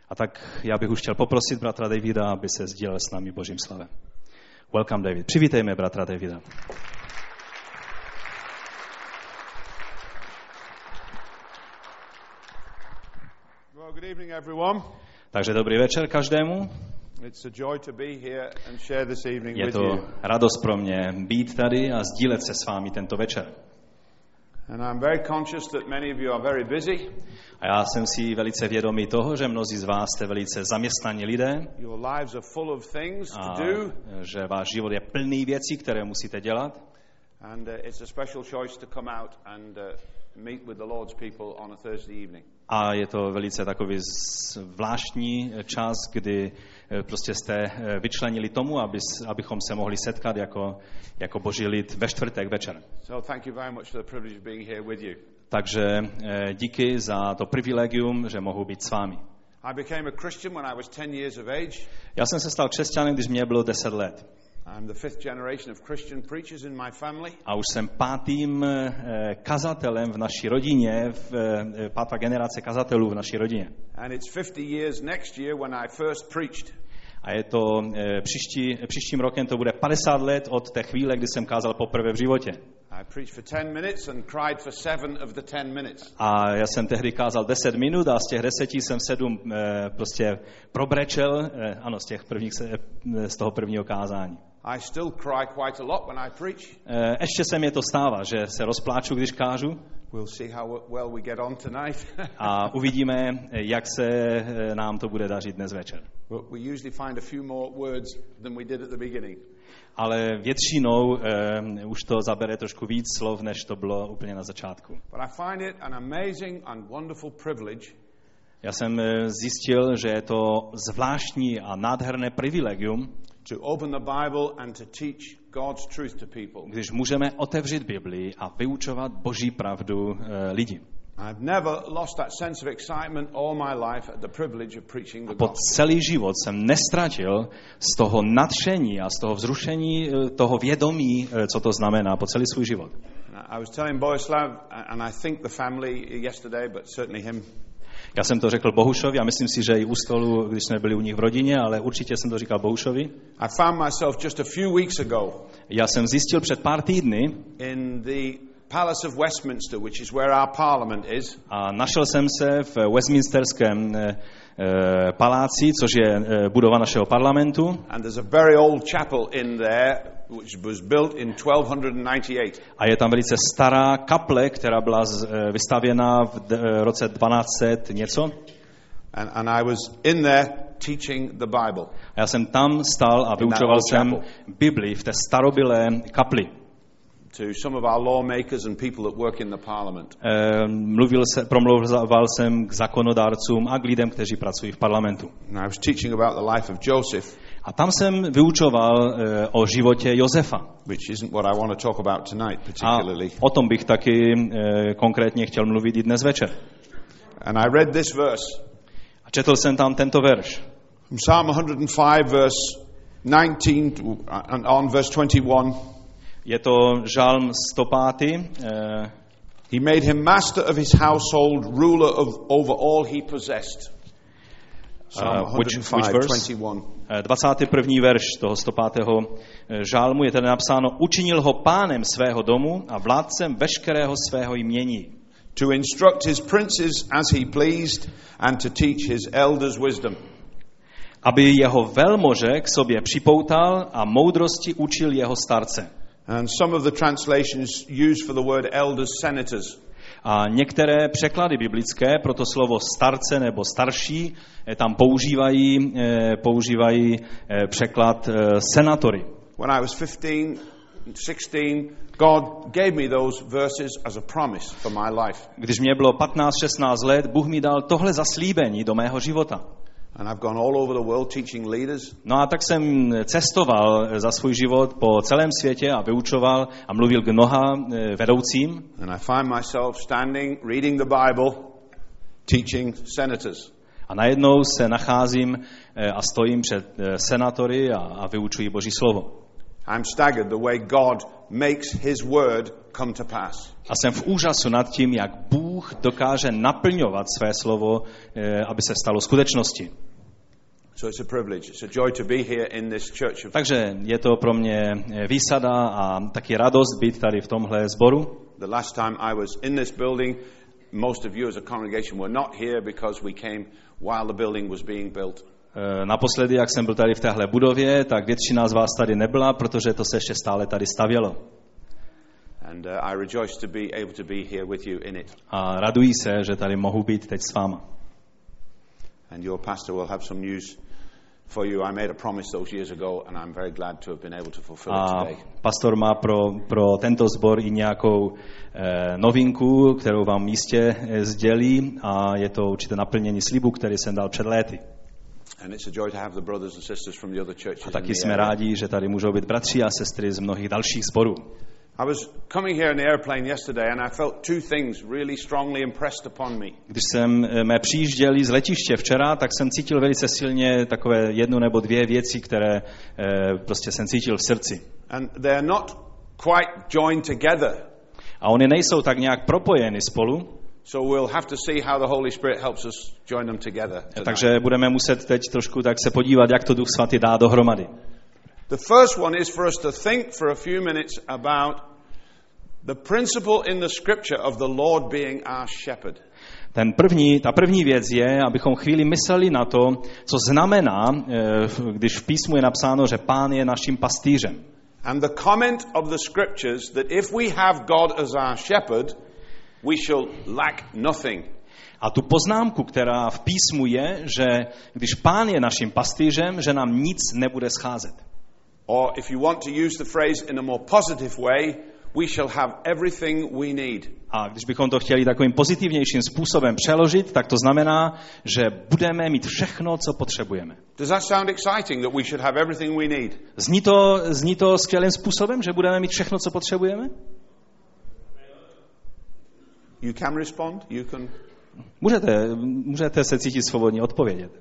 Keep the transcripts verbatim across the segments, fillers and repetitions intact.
A tak já bych už chtěl poprosit bratra Davida, aby se sdílel s námi Božím slavem. Welcome, David. Přivítejme bratra Davida. Well, good evening, everyone. Takže dobrý večer každému. It's a joy to be here and share this evening Je with to you. radost pro mě být tady a sdílet se s vámi tento večer. And I'm very conscious that many of you are very busy. A já jsem si velice vědomý toho, že mnozí z vás jste velice zaměstnaní lidé Your lives are full of things a to do. že váš život je plný věcí, které musíte dělat. And uh, it's a special choice to come out and uh, meet with the Lord's people on a Thursday evening. A je to velice takový zvláštní čas, kdy prostě jste vyčlenili tomu, aby, abychom se mohli setkat jako, jako Boží lid ve čtvrtek večer. So thank you very much for the privilege of being here with you. Takže díky za to privilegium, že mohu být s vámi. I became a Christian when I was ten years of age. Já jsem se stal křesťanem, když mě bylo deset let. I'm the fifth generation of Christian preachers in my family. A už jsem pátým kazatelem v naší rodině, v, pátá generace kazatelů v naší rodině. And it's fifty years next year when I first preached. A je to příští, příštím rokem to bude padesát let od té chvíle, kdy jsem kázal poprvé v životě. I preached for ten minutes and cried for seven of the ten minutes. A já jsem tehdy kázal deset minut a z těch deseti jsem sedm prostě probrečel, ano, z těch prvních, z toho prvního kázání. I still cry quite a lot when I preach. Ještě se mi to stává, že se rozpláču, když kážu. We'll see how well we get on tonight. A uvidíme, jak se nám to bude dařit dnes večer. We usually find a few more words than we did at the beginning. Ale většinou uh, už to zabere trošku víc slov, než to bylo úplně na začátku. But I find it an amazing and wonderful privilege. Já jsem zjistil, že je to zvláštní a nádherné privilegium, to open the Bible and to teach God's truth to people. Když můžeme otevřít Biblii a vyučovat Boží pravdu uh, lidi. I've never lost that sense of excitement all my life at the privilege of preaching the Po gospel. celý život jsem nestratil z toho nadšení a z toho vzrušení, toho vědomí, co to znamená, po celý svůj život. I was telling Bohuslav, and I think the family yesterday, but certainly him. Já jsem to řekl Bohušovi a myslím si, že i u stolu, když jsme byli u nich v rodině, ale určitě jsem to říkal Bohušovi. I found myself just a few weeks ago. Já jsem zjistil před pár týdny in the Palace of Westminster, which is where our parliament is. A našel jsem se v Westminsterském e, e, paláci, což je e, budova našeho parlamentu. And there's a very old chapel in there which was built in twelve ninety-eight. A je tam velice stará kaple, která byla z, e, vystavěna v d, e, roce dvanáct set něco. And, and I was in there teaching the Bible. A já jsem tam stál a vyučoval jsem Bibli v té starobylé kapli. To some of our lawmakers and people that work in the parliament. E, mluvil se, promlouval jsem k zákonodárcům a k lidem, kteří pracují v parlamentu. And I was teaching about the life of Joseph. A tam jsem vyučoval e, o životě Josefa. Which isn't what I want to talk about tonight particularly. A o tom bych taky e, konkrétně chtěl mluvit i dnes večer. And I read this verse. A četl jsem tam tento verš. From Psalm one hundred five verse nineteen and on verse twenty-one. Je to žalm sto pět. Uh, he made him master of his household, ruler of over all he possessed. Psalm uh, which, one hundred five, which verse? twenty-one. Uh, dvacátý první verš toho sto pátého žalmu je tedy napsáno: Učinil ho pánem svého domu a vládcem veškerého svého jmění. To instruct his princes as he pleased and to teach his elders wisdom. Aby jeho velmože k sobě připoutal a moudrosti učil jeho starce. And some of the translations use for the word elders senators. A některé překlady biblické pro to slovo starce nebo starší tam používají, používají překlad senatory. When I was fifteen, sixteen, God gave me those verses as a promise for my life. Když mě bylo patnáct šestnáct let, Bůh mi dal tohle zaslíbení do mého života. And I've gone all over the world teaching leaders. No a tak jsem cestoval za svůj život po celém světě a vyučoval a mluvil k mnoha vedoucím. And I find myself standing, reading the Bible, teaching senators. A najednou se nacházím a stojím před senatory a, a vyučuji Boží slovo. I'm staggered the way God makes his word come to pass. A jsem v úžasu nad tím, jak Bůh dokáže naplňovat své slovo, aby se stalo skutečností. So it's a privilege. It's a joy to be here in this church of... Takže je to pro mě výsada a taky radost být tady v tomhle sboru. The last time I was in this building, most of you as a congregation were not here because we came while the building was being built. Naposledy, jak jsem byl tady v téhle budově, tak většina z vás tady nebyla, protože to se ještě stále tady stavělo. And uh, I rejoice to be able to be here with you in it. A raduji se, že tady mohu být teď s váma. And your pastor will have some news for you. I made a promise those years ago and I'm very glad to have been able to fulfill it today. A pastor má pro, pro tento sbor i nějakou eh, novinku, kterou vám jistě eh, sdělí, a je to určité naplnění slibu, který jsem dal před léty. And it's a joy to have the brothers and sisters from the other churches. A taky jsme rádi, že tady můžou být bratři a sestry z mnohých dalších sborů. I was coming here in the airplane yesterday and I felt two things really strongly impressed upon me. Když jsem mé přijížděli z letiště včera, tak jsem cítil velice silně takové jednu nebo dvě věci, které eh, prostě jsem cítil v srdci. And they're not quite joined together. A oni nejsou tak nějak propojeny spolu. So we'll have to see how the Holy Spirit helps us join them together. Takže budeme muset teď trošku tak se podívat, jak to Duch Svatý dá dohromady. The first one is for us to think for a few minutes about the principle in the scripture of the Lord being our shepherd. Ten první, ta první věc je, abychom chvíli mysleli na to, co znamená, když v písmu je napsáno, že Pán je naším pastýřem. And the comment of the scriptures that if we have God as our shepherd, we shall lack nothing. A tu poznámku, která v písmu je, že když Pán je naším pastýřem, že nám nic nebude scházet. Or if you want to use the phrase in a more positive way, we shall have everything we need. A když bychom to chtěli takovým pozitivnějším způsobem přeložit, tak to znamená, že budeme mít všechno, co potřebujeme. Does that sound exciting, that we should have everything we need? Zní to, zní to skvělým způsobem, že budeme mít všechno, co potřebujeme? You can respond. You can. Můžete, můžete se cítit svobodně odpovědět.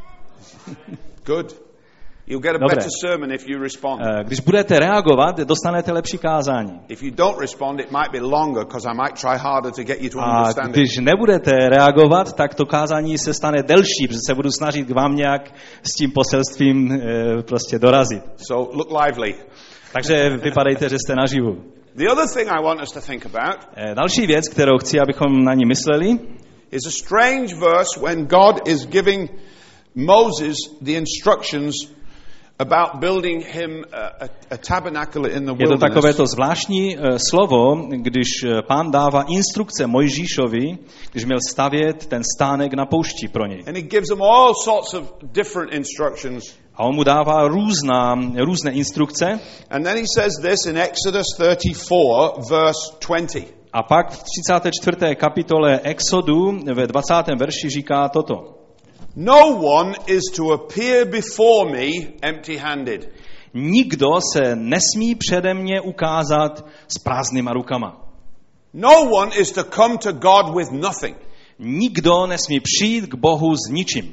Good. You'll get a Dobré. better sermon if you respond. Když budete reagovat, dostanete lepší kázání. If you don't respond, it might be longer because I might try harder to get you to A understand it. když nebudete reagovat, tak to kázání se stane delší, protože se budu snažit k vám nějak s tím poselstvím e, prostě dorazit. So look lively. Takže vypadejte, že jste naživu. The other thing I want us to think about E, další věc, kterou chci, abychom na ní mysleli, is a strange verse when God is giving Moses the instructions about building him a, a, a tabernacle in the je to wilderness. takovéto zvláštní uh, slovo, když uh, Pán dává instrukce Mojžíšovi, když měl stavět ten stánek na poušti pro něj. And he gives them all sorts of different instructions. A on mu dává různá, různé instrukce. And then he says this in Exodus thirty-four, verse twenty. A pak v třicáté čtvrté kapitole Exodu ve dvacátém verši říká toto. No one is to appear before me empty-handed. Nikdo se nesmí přede mě ukázat s prázdnýma rukama. No one is to come to God with nothing. Nikdo nesmí přijít k Bohu s ničím.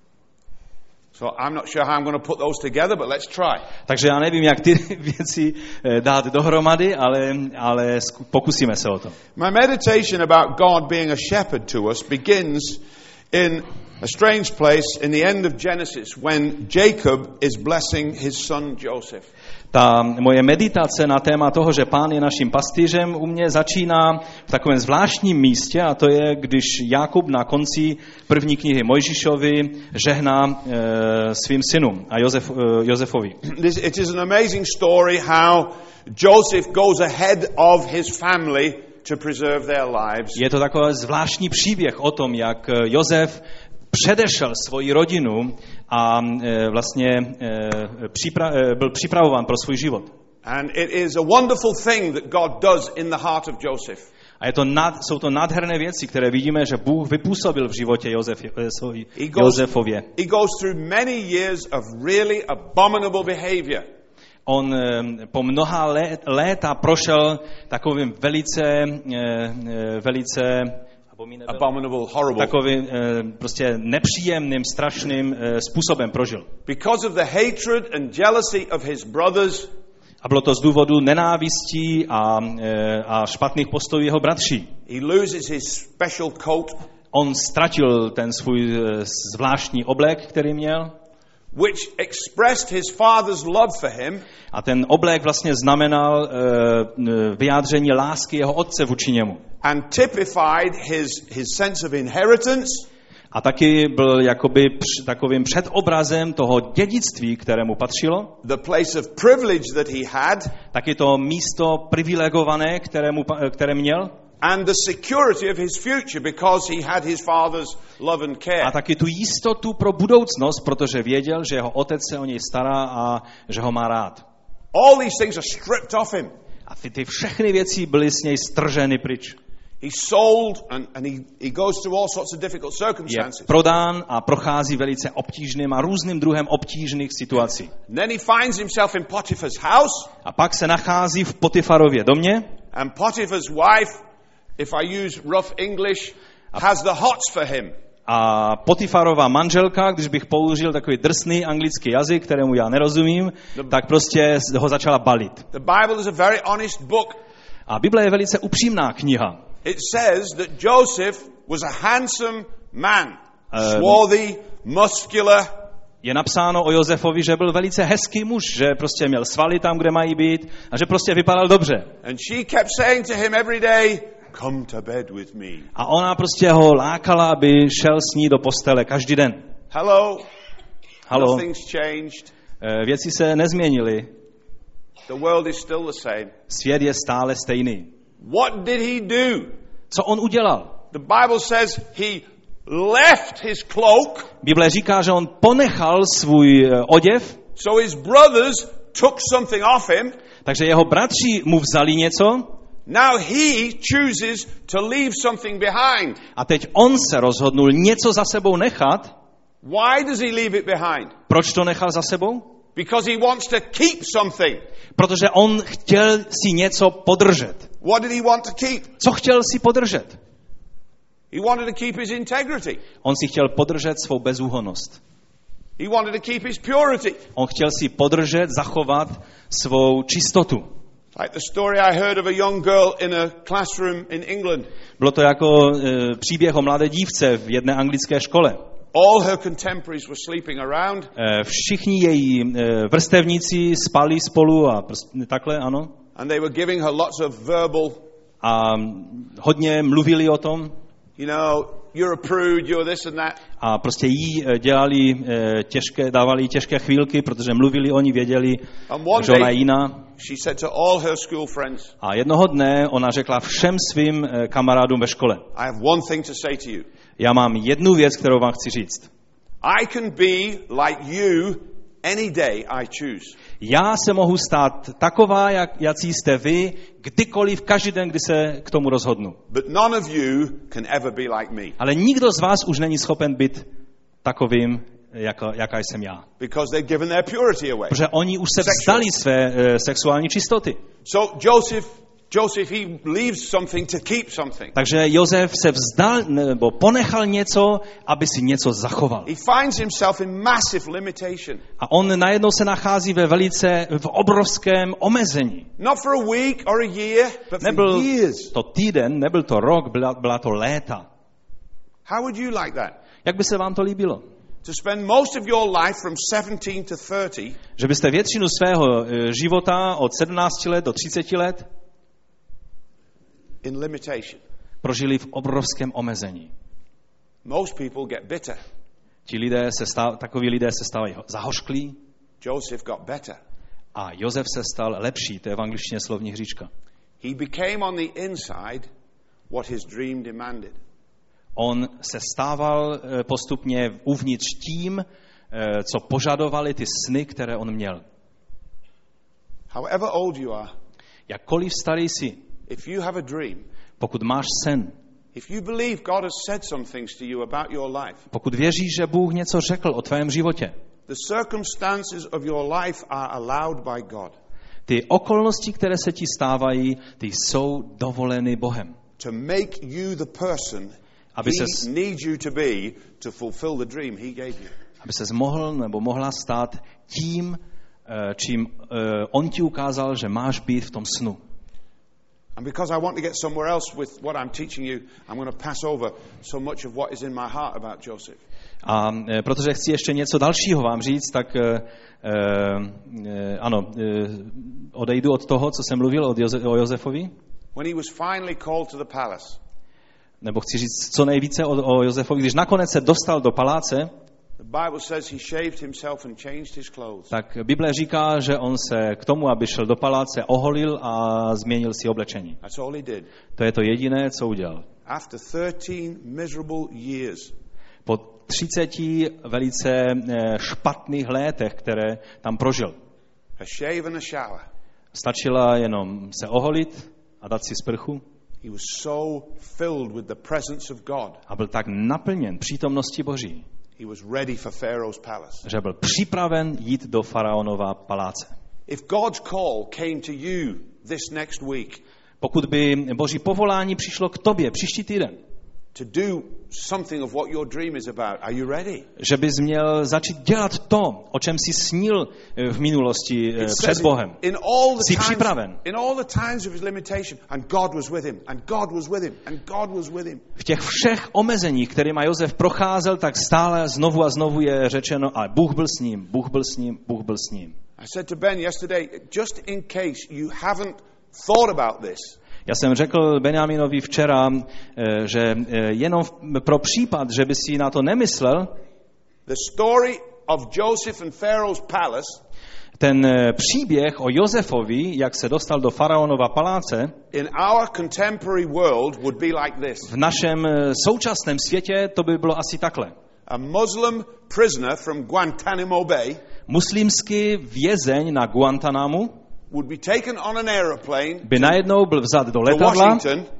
So I'm not sure how I'm going to put those together, but let's try. Takže já nevím, jak ty věci dát dohromady, ale, ale pokusíme se o to. My meditation about God being a shepherd to us begins in a strange place in the end of Genesis when Jacob is blessing his son Joseph. Ta moje meditace na téma toho, že Pán je naším pastýřem, u mě začíná v takovém zvláštním místě, a to je, když Jakub na konci první knihy Mojžíšovi žehná e, svým synům a Josef, e, Josefovi. It is an amazing story how Joseph goes ahead of his family to preserve their lives. Je to takový zvláštní příběh o tom, jak Josef předešel svoji rodinu a e, vlastně e, připra- e, byl připravován pro svůj život. And it is a wonderful thing that God does in the heart of Joseph. A je to nad, jsou to nádherné věci, které vidíme, že Bůh vypůsobil v životě Josef, svojí, He goes, Josefově. he goes through many years of really abominable behavior. On po mnoha let, léta prošel takovým velice, velice abominable, horrible. Takovým prostě nepříjemným, strašným způsobem prožil. Because of the hatred and jealousy of his brothers. A bylo to z důvodu nenávistí a, a špatných postojů jeho bratří. He loses his special coat, On ztratil ten svůj zvláštní oblek, který měl. which expressed his father's love for him. A ten oblek vlastně znamenal uh, vyjádření lásky jeho otce vůči němu. And typified his, his sense of inheritance. A taky byl jakoby př, takovým předobrazem toho dědictví, kterému patřilo. The place of privilege that he had. Taky to místo privilegované, kterému, které měl. And the security of his future because he had his father's love and care. A taky tu jistotu pro budoucnost, protože věděl, že jeho otec se o něj stará a že ho má rád. All these things are stripped off him. A ty, ty všechny věci byly z něj strženy pryč. He's sold and, and he, he goes through all sorts of difficult Je circumstances. prodán a prochází velice obtížným a různým druhem obtížných situací. And then he finds himself in Potiphar's house. A pak se nachází v Potifarově domě. And Potiphar's wife, if I use rough English, has the hots for him. A Potifarova manželka, když bych použil takový drsný anglický jazyk, kterému já nerozumím, tak prostě ho začala balit. The Bible is a very honest book. A Bible je velice upřímná kniha. It says that Joseph was a handsome man, swarthy, muscular. Je napsáno o Josefovi, že byl velice hezký muž, že prostě měl svaly tam, kde mají být a že prostě vypadal dobře. And she kept saying to him every day, come to bed with me. A ona prostě ho lákala, aby šel s ní do postele každý den. Hello. Halo. Nothing's changed. Věci se nezměnily. The world is still the same. Svět je stále stejný. What did he do? Co on udělal? The Bible says he left his cloak. Bible říká, že on ponechal svůj oděv. So his brothers took something off him. Takže jeho bratři mu vzali něco. Now he chooses to leave something behind. A teď on se rozhodnul něco za sebou nechat. Why does he leave it behind? Proč to nechal za sebou? Because he wants to keep something. Protože on chtěl si něco podržet. What did he want to keep? Co chtěl si podržet? He wanted to keep his integrity. On si chtěl podržet svou bezúhonnost. He wanted to keep his purity. On chtěl si podržet, zachovat svou čistotu. Like the story I heard of a young girl in a classroom in England. Bylo to jako e, příběh o mladé dívce v jedné anglické škole. All her contemporaries were sleeping around. E, všichni její e, vrstevníci spali spolu a prs- takhle, ano. And they were giving her lots of verbal. A hodně mluvili o tom. You know, you're a prude, you're this and that. A prostě jí dělali e, těžké, dávali těžké chvílky, protože mluvili oni, věděli, že ona je jiná. She said to all her school friends. A jednoho dne ona řekla všem svým e, kamarádům ve škole. I have one thing to say to you. Já mám jednu věc, kterou vám chci říct. I can be like you any day I choose. Já se mohu stát taková, jak, jací jste vy, kdykoliv, každý den, kdy se k tomu rozhodnu. But none of you can ever be like me. Ale nikdo z vás už není schopen být takovým, jako, jaká jsem já. Because they've given their purity away. Protože oni už se vzdali své uh, sexuální čistoty. So Joseph, Joseph, he leaves something to keep something. Takže Josef se vzdal nebo ponechal něco, aby si něco zachoval. He finds himself in massive limitation. A on najednou se nachází ve velice, v obrovském omezení. Not for a week or a year, but for Nebyl years. to týden, nebyl to rok, byla, byla to léta. How would you like that? Jak by se vám to líbilo? To spend most of your life from seventeen to thirty. Že byste většinu svého života od sedmnácti let do třiceti let In limitation. prožili v obrovském omezení. Most people get bitter. Ti lidé se stav, takoví lidé se stávají zahořklí. Joseph got better. A Josef se stal lepší, to je v angličtině slovní hříčka. He became on the inside what his dream demanded. On se stával postupně uvnitř tím, co požadovali ty sny, které on měl. However old you are, jakkoliv starý jsi, if you have a dream, pokud máš sen, if you believe God has said some things to you about your life, pokud věříš, že Bůh něco řekl o tvém životě, the circumstances of your life are allowed by God. Ty okolnosti, které se ti stávají, ty jsou dovoleny Bohem. To make you the person aby he ses, needs you to be to fulfill the dream he gave you. aby ses mohl nebo mohla stát tím, čím on ti ukázal, že máš být v tom snu. And because I want to get somewhere else with what I'm teaching you, I'm going to pass over so much of what is in my heart about Joseph. A protože chci ještě něco dalšího vám říct, tak eh, eh, ano, eh, odejdu od toho, co jsem mluvil od Joze, o Josefovi. When he was finally called to the palace. Nebo chci říct co nejvíce o, o Josefovi, když nakonec se dostal do paláce. The Bible says he shaved himself and changed his clothes. Tak Bible říká, že on se k tomu, aby šel do paláce, oholil a změnil si oblečení. That's all he did. To je to jediné, co udělal. After thirteen miserable years. Po třiceti velice špatných létech, které tam prožil. A shave and a shower. Stačila jenom se oholit a dát si sprchu. He was so filled with the presence of God. A byl tak naplněn přítomností Boží. He was ready for Pharaoh's palace. Že byl připraven jít do faraonova paláce. If God's call came to you this next week. Pokud by Boží povolání přišlo k tobě příští týden. To do something of what your dream is about. Are you ready? Že bys měl začít dělat to, o čem jsi snil v minulosti před Bohem. In all the jsi times, připraven. In all the times of his limitation, and God was with him, and God was with him, and God was with him. V těch všech omezeních, kterými Josef procházel, tak stále znovu a znovu je řečeno, a Bůh byl s ním, Bůh byl s ním, Bůh byl s ním. I said to Ben yesterday, just in case you haven't thought about this. Já jsem řekl Benjaminovi včera, že jenom pro případ, že by si na to nemyslel, the story of Joseph and Pharaoh's palace, ten příběh o Josefovi, jak se dostal do faraonova paláce, in our contemporary world would be like this. V našem současném světě to by bylo asi takhle. A Muslim prisoner from Guantanamo Bay, muslimský vězeň na Guantanamu, would be taken on an aeroplane by najednou byl vzat do letadla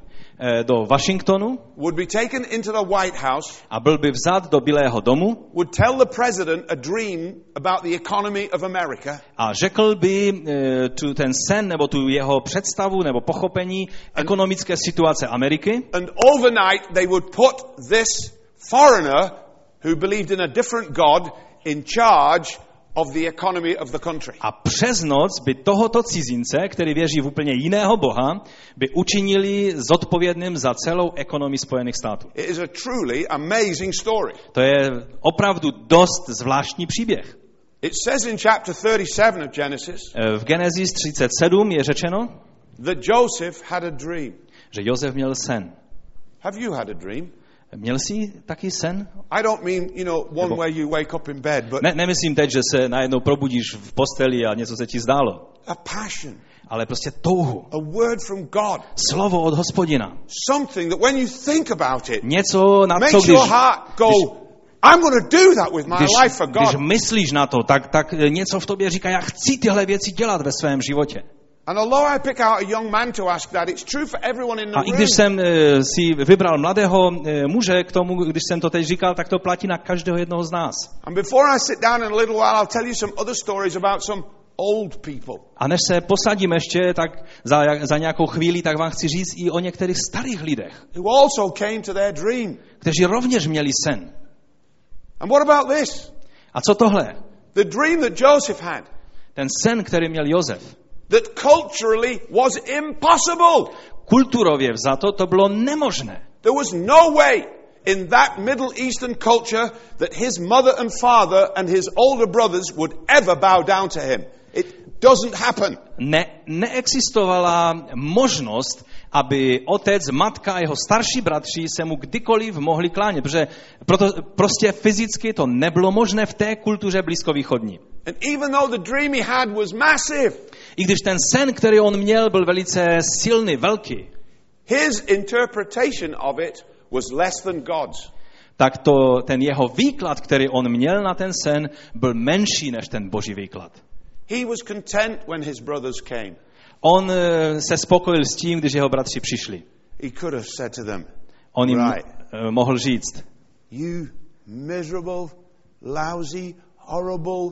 do Washingtonu, would be taken into the White House, a byl by vzat do Bílého domu, would tell the president a dream about the economy of America, a řekl by tu ten sen nebo tu jeho představu nebo pochopení ekonomické situace Ameriky, and overnight they would put this foreigner who believed in a different God in charge of the economy of the country. A přes noc by tohoto cizince, který věří v úplně jiného Boha, by učinili zodpovědným za celou ekonomii Spojených států. It is a truly amazing story. To je opravdu dost zvláštní příběh. It says in chapter thirty-seven of Genesis, v Genesis třicet sedm je řečeno, that Joseph had a dream. Že Josef měl sen. Have you had a dream? Měl jsi taky sen? I don't mean, you know, one Nebo, where you wake up in bed, but ne, nemyslím teď, že se najednou probudíš v posteli a něco se ti zdálo. A passion. Ale prostě touhu. A word from God. Slovo od Hospodina. Something that when you think about it, něco na co, když, your heart go, když, I'm going to do that with my když, life for God. Když myslíš na to, tak, tak něco v tobě říká, já chci tyhle věci dělat ve svém životě. And although I pick out a young man to ask that, it's true for everyone in the room. A i když jsem uh, si vybral mladého uh, muže k tomu, když jsem to teď říkal, tak to platí na každého jednoho z nás. And before I sit down in a little while, I'll tell you some other stories about some old people. A než se posadím ještě, tak za, za nějakou chvíli, tak vám chci říct i o některých starých lidech. Who also came to their dream. Kteří rovněž měli sen. And what about this? A co tohle? The dream that Joseph had. Ten sen, který měl Josef. That culturally was impossible. Kulturově vzato to bylo nemožné. There was no way in that Middle Eastern culture that his mother and father and his older brothers would ever bow down to him. It doesn't happen. Ne, neexistovala možnost, aby otec, matka a jeho starší bratři se mu kdykoliv mohli klánět, protože proto, prostě fyzicky to nebylo možné v té kultuře blízkovýchodní. And even though the dream he had was massive, i když ten sen, který on měl, byl velice silný, velký, his interpretation of it was less than God's. Tak to, ten jeho výklad, který on měl na ten sen, byl menší než ten Boží výklad. He was content when his brothers came. On se spokojil s tím, když jeho bratři přišli. He could have said to them, on jim right, mohl říct, you miserable, lousy, horrible,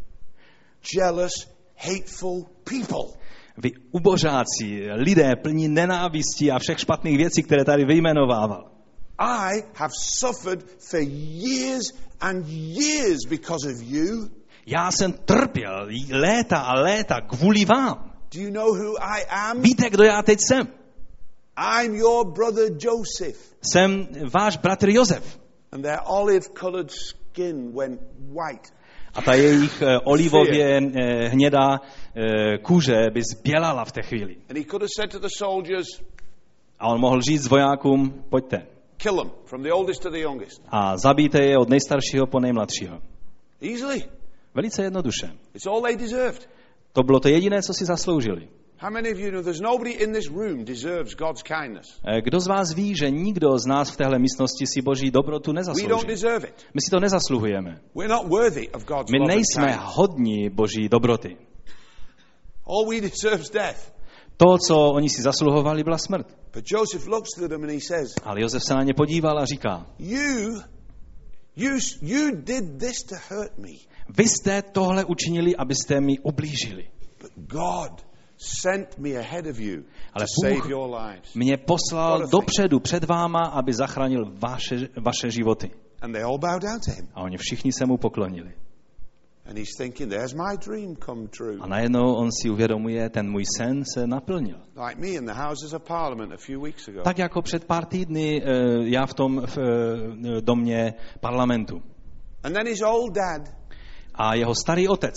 jealous, hateful people. Vy ubožáci, lidé plní nenávistí a všech špatných věcí, které tady vyjmenovával. I have suffered for years and years because of you. Já jsem trpěl léta a léta kvůli vám. Do you know who I am? Víte, kdo já teď jsem? I'm your brother Joseph. Jsem váš bratr Josef. And their olive-colored skin went white. A ta jejich eh, olivově eh, hnědá eh, kůže by zbělala v té chvíli. And he could have said to the soldiers, a on mohl říct vojákům, pojďte. Kill them, from the oldest to the youngest. A zabijte je od nejstaršího po nejmladšího. Easily. Velice jednoduše. It's all they deserved. To bylo to jediné, co si zasloužili. How many of you know there's nobody in this room deserves God's kindness? Kdo z vás ví, že nikdo z nás v téhle místnosti si Boží dobrotu We nezaslouží? don't deserve it. My si to nezasluhujeme. We're not worthy of God's My love and nejsme kindness. hodní Boží dobroty. All we deserve is death. To, co oni si zasluhovali, byla smrt. But Joseph looks to them and he says, Ale Josef se na ně podíval a říká, You, you, you did this to hurt me. vy jste tohle učinili, abyste mi ublížili. But God sent me ahead of you Ale to Bůh save your lives. mě poslal dopředu před váma, aby zachránil vaše, vaše životy. And they all bow down to him. A oni všichni se mu poklonili. And he's thinking, there's my dream come true. A najednou on si uvědomuje, ten můj sen se naplnil. Like me in the Houses of Parliament a few weeks ago. Tak jako před pár týdny já v tom v domě parlamentu. And then his old dad, a jeho starý otec,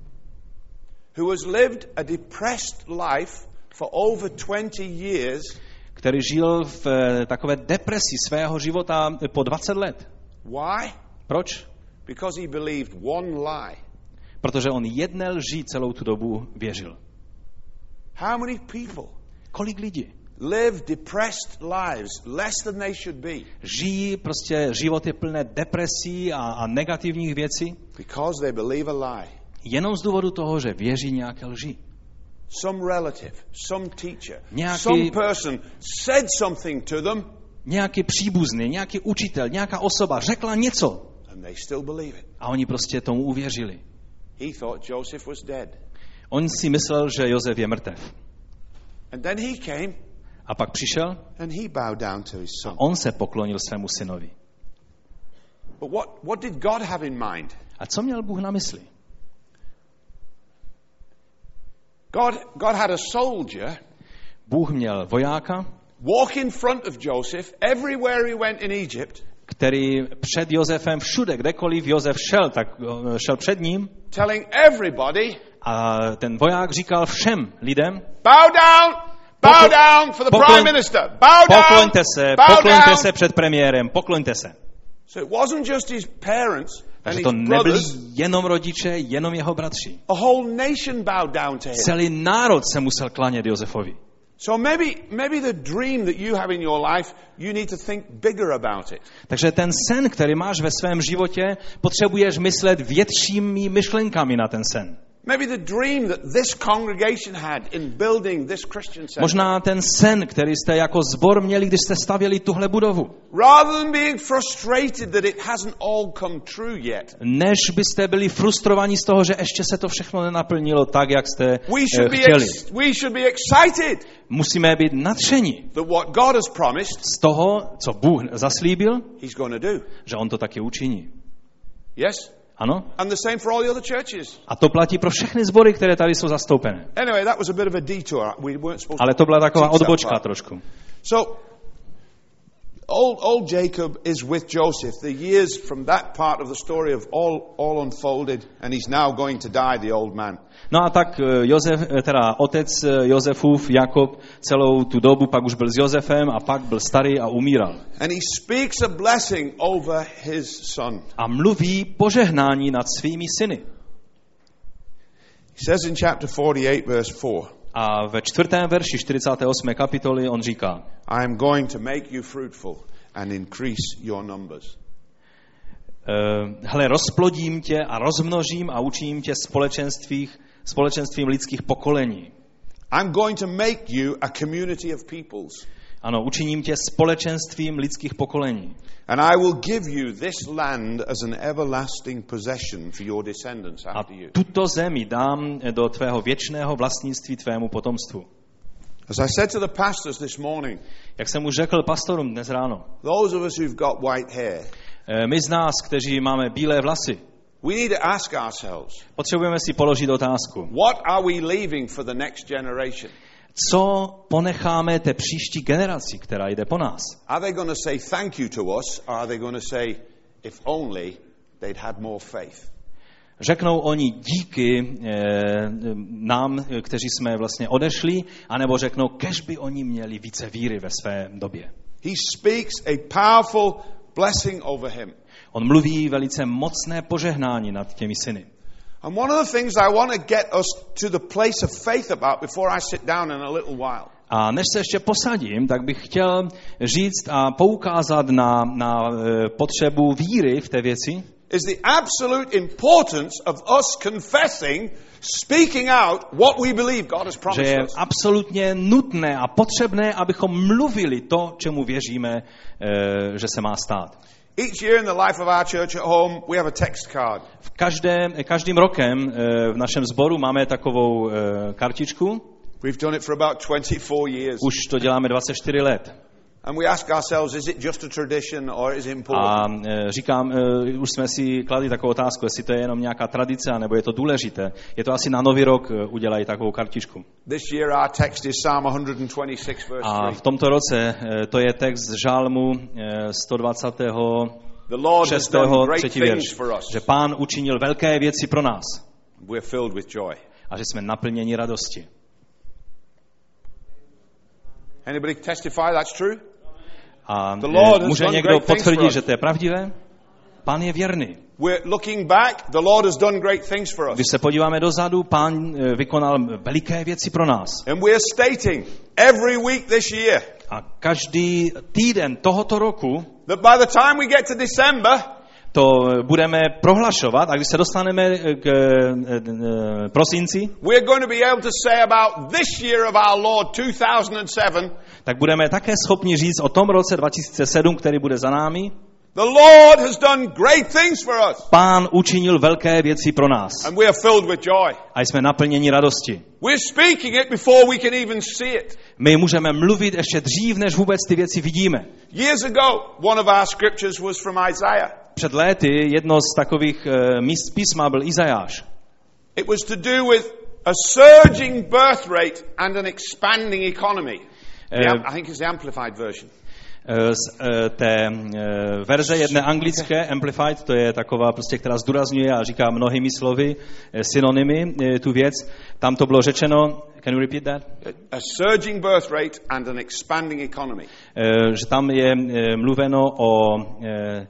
who has lived a depressed life for over twenty years, který žil v takové depresi svého života po dvacet let. Why? Proč? Because he believed one lie. Protože on jedné lži celou tu dobu věřil. How many people Kolik lidí live depressed lives less than they should be? Žijí prostě životy plné depresí a, a negativních věcí. Because they believe a lie. Jenom z důvodu toho, že věří nějaké lži. Some relative, some teacher, Nějaký, some person said something to them. Nějaký příbuzný, nějaký učitel, nějaká osoba řekla něco. And they still believe it. A oni prostě tomu uvěřili. He thought Joseph was dead. On si myslel, že Josef je mrtev. And then he came. A pak přišel And he bowed down to his son. a on se poklonil svému synovi. But what, what did God have in mind? A co měl Bůh na mysli? God, God had a soldier Bůh měl vojáka, walk in front of Joseph everywhere he went in Egypt, který před Josefem všude, kdekoliv Josef šel, tak šel před ním. Telling everybody, a ten voják říkal všem lidem, bow down, bow Poklo- down for the poklo- prime minister, bow down, pokloňte se, bow pokloňte down. se před premiérem, pokloňte se. So it wasn't just his parents and Takže his to nebyli brothers, jenom rodiče, jenom jeho bratři. a whole nation bowed down to him. Celý národ se musel klanět Josefovi. So maybe, maybe the dream that you have in your life, you need to think bigger about it. Takže ten sen, který máš ve svém životě, potřebuješ myslet většími myšlenkami na ten sen. Maybe the dream that this congregation had in building this Christian center. Možná ten sen, který jste jako sbor měli, když jste stavěli tuhle budovu. Rather than being frustrated that it hasn't all come true yet. Než byste byli frustrovaní z toho, že ještě se to všechno nenaplnilo tak, jak jste We eh, should be chtěli. ex- we should be excited Musíme být nadšení that what God has promised, z toho, co Bůh zaslíbil, he's going to do. že on to taky učiní. Yes? Ano? And the same for all the other churches. A to platí pro všechny sbory, které tady jsou zastoupené. Anyway, that was a bit of a detour. We weren't supposed Ale to to byla taková teach that odbočka part. trošku. So, old, old Jacob is with Joseph. The years from that part of the story have all, all unfolded, and he's now going to die, the old man. No a tak Josef, teda otec Josefův, Jakob, celou tu dobu pak už byl s Josefem a pak byl starý a umíral. And he speaks a blessing over his son. A mluví požehnání nad svými syny. He says in chapter forty-eight, verse four, A ve čtvrtém verši čtyřicáté osmé kapitoly on říká, I am going to make you fruitful and increase your numbers. Hle, rozplodím tě a rozmnožím a učiním tě společenstvích, společenstvím lidských pokolení. I'm going to make you a community of peoples. Ano, učiním tě společenstvím lidských pokolení. And I will give you this land as an everlasting possession for your descendants A after you. tuto zemi dám do tvého věčného vlastnictví tvému potomstvu. As I said to the pastors this morning, Jak jsem už řekl pastorům dnes ráno, those of us who've got white hair, my z nás, kteří máme bílé vlasy, We need to ask ourselves, Potřebujeme si položit otázku. what are we leaving for the next generation? Co ponecháme té příští generaci, která jde po nás? Are they going to say thank you to us, or are they going to say, if only they'd had more faith? Řeknou oni díky e, nám, kteří jsme vlastně odešli, anebo řeknou, kež by oni měli více víry ve své době. He speaks a powerful blessing over him. On mluví velice mocné požehnání nad těmi syny. And one of the things I want to get us to the place of faith about before I sit down in a little while. A než se ještě posadím, tak bych chtěl říct a poukázat na, na e, potřebu víry v té věci, is the absolute importance of us confessing, speaking out what we believe God has že promised je us. absolutně nutné a potřebné, abychom mluvili to, čemu věříme, e, že se má stát. Each year in the life of our church at home, we have a text card. V každé, každým rokem e, v našem sboru máme takovou e, kartičku. We've done it for about twenty-four years. Už to děláme dvacet čtyři let. And we ask ourselves, is it just a tradition or is it A important? e, říkám, e, už jsme si kladli takovou otázku, jestli to je jenom nějaká tradice, nebo je to důležité. Je to asi na nový rok e, udělají takovou kartičku. This year our text is Psalm one twenty-six verse A three. v tomto roce e, to je text z Žálmu e, sto dvacet The Lord has done great třetí things verš, for us. že Pán učinil velké věci pro nás We're filled with joy. a že jsme naplněni radosti. Anybody testify that's true? A The Lord e, has může done někdo great things for potvrdit, us. že to je pravdivé? Pán je věrný. We're looking back, the Lord has done great things for us. Když se podíváme dozadu, Pán e, vykonal veliké věci pro nás. And we're stating every week this year A každý týden tohoto roku that by the time we get to December, to budeme prohlašovat, a když se dostaneme k e, e, prosinci, we're going to be able to say about this year of our Lord two thousand seven, tak budeme také schopni říct o tom roce dva tisíce sedm, který bude za námi. the Lord has done great things for us. Pán učinil velké věci pro nás And we are filled with joy. a jsme naplněni radosti. We're speaking it before we can even see it. My můžeme mluvit ještě dřív, než vůbec ty věci vidíme. Years ago, one of our scriptures was from Isaiah. Před léty jedno z takových uh, míst písma byl Izajáš. It was to do with a surging birth rate and an expanding economy. The Uh, am- I think it's the amplified version. Z uh, té uh, verze jedné anglické, Amplified, to je taková prostě, která zdůrazňuje a říká mnohými slovy, uh, synonymy uh, tu věc. Tam to bylo řečeno, can you repeat that? A surging birth rate and an expanding economy. Uh, že tam je uh, mluveno o, uh,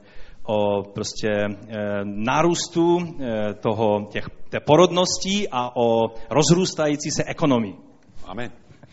o prostě uh, nárůstu uh, toho, těch, té porodnosti a o rozrůstající se ekonomii. Amen.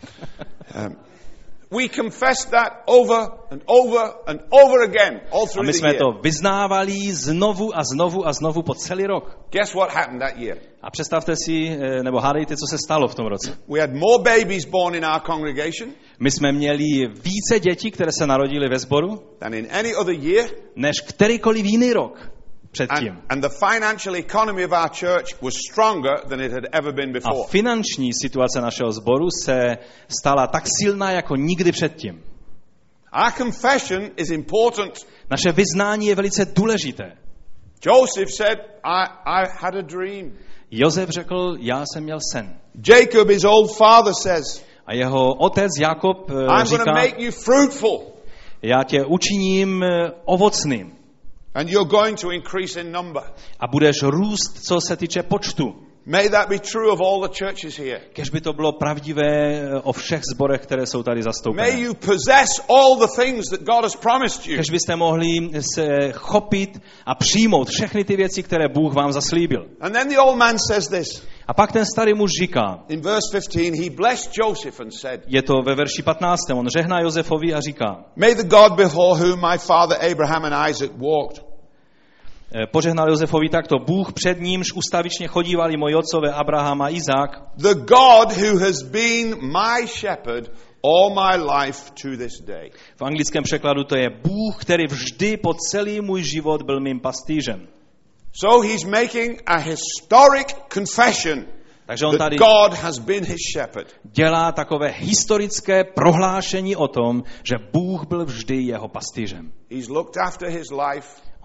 um, we confessed that over and over and over again all A through my the jsme year. to vyznávali znovu a znovu a znovu po celý rok. Guess what happened that year? A představte si, eh, nebo hádejte, co se stalo v tom roce. We had more babies born in our congregation My jsme měli více dětí, které se narodily ve sboru, than in any other year. než kterýkoliv jiný rok předtím. And, and the financial economy of our church was stronger than it had ever been A before. finanční situace našeho sboru se stala tak silná jako nikdy předtím. Our confession is important. Naše vyznání je velice důležité. Joseph said, I, I had a dream. Josef řekl, já jsem měl sen. Jacob, his old father, says, A jeho otec Jakob eh, I'm going to říká, make you fruitful já tě učiním eh, ovocným and you're going to increase in number. a budeš růst, co se týče počtu. May that be true of all the churches here. Kež by to bylo pravdivé o všech zborech, které jsou tady May zastoupené. you possess all the things that God has promised you. Kež byste mohli se chopit a přijmout všechny ty věci, které Bůh vám zaslíbil. And then the old man says this. A pak ten starý muž říká, In verse fifteen, he blessed Joseph and said, je to ve verši patnáctém, on žehná Josefovi a říká, May the God before whom my father Abraham and Isaac walked, požehnal Josefovi takto, Bůh před nímž ustavičně chodívali moji otcové Abraham a Izák, the God who has been my shepherd all my life to this day. v anglickém překladu to je Bůh, který vždy po celý můj život byl mým pastýřem. So he's making a historic confession Takže on that tady God has been his shepherd. dělá takové historické prohlášení o tom, že Bůh byl vždy jeho pastýřem. He's looked after his life.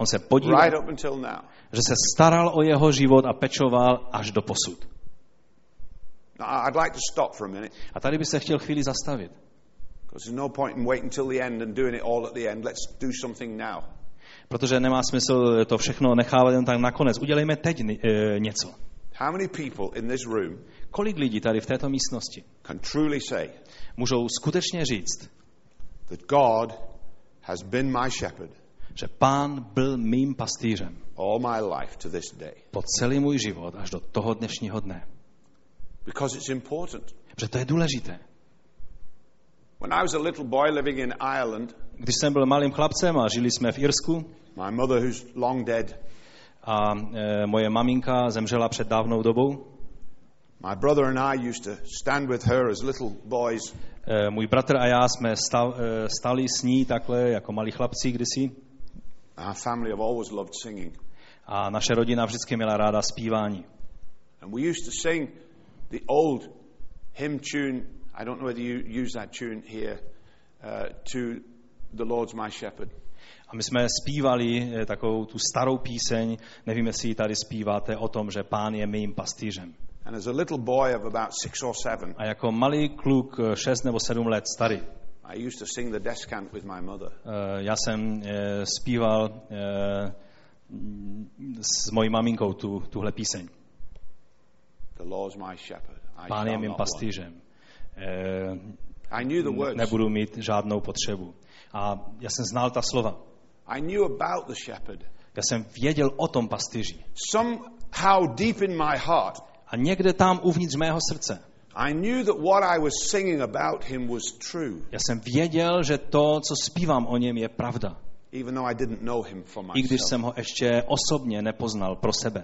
On se podíval, right up until now. že se staral o jeho život a pečoval až do posud. Now, I'd like to stop for a minute. A tady by se chtěl chvíli zastavit. Because there's no point in waiting till the end and doing it all at the end. Let's do something now. Protože nemá smysl to všechno nechávat jen tak nakonec. Udělejme teď e, něco. How many people in this room Kolik lidí tady v této místnosti can truly say můžou skutečně říct, that God has been my shepherd že Pán byl mým pastýřem all my life to this day? po celý můj život až do toho dnešního dne. Because it's important. Protože to je důležité. When I was a little boy living in Ireland, Když jsem byl malým chlapcem a žili jsme v Irsku my mother, who's long dead, a e, moje maminka zemřela před dávnou dobou, my brother and I used to stand with her as little boys. e, můj bratr a já jsme stav, e, stali s ní takhle jako malí chlapci kdysi Our family have always loved singing. a naše rodina vždycky měla ráda zpívání. And we used to sing the old hymn tune. I don't know whether you use that tune here, uh, to the Lord's my shepherd. A my jsme zpívali takovou tu starou píseň, nevím, jestli ji tady zpíváte, o tom, že Pán je mým pastýřem. And as a little boy of about six or seven, A jako malý kluk, šest nebo sedm let starý, I used to sing the descant with my mother. já jsem zpíval s mojí maminkou tu, tuhle píseň. The Lord's my shepherd. I Pán je shall mým not pastýřem. I knew the words. Nebudu mít žádnou potřebu. A já jsem znal ta slova. I knew about the shepherd. Já jsem věděl o tom pastýři. Somehow deep in my heart, A někde tam uvnitř mého srdce, I knew that what I was singing about him was true, já jsem věděl, že to, co zpívám o něm, je pravda. even though I didn't know him for I když myself. jsem ho ještě osobně nepoznal pro sebe.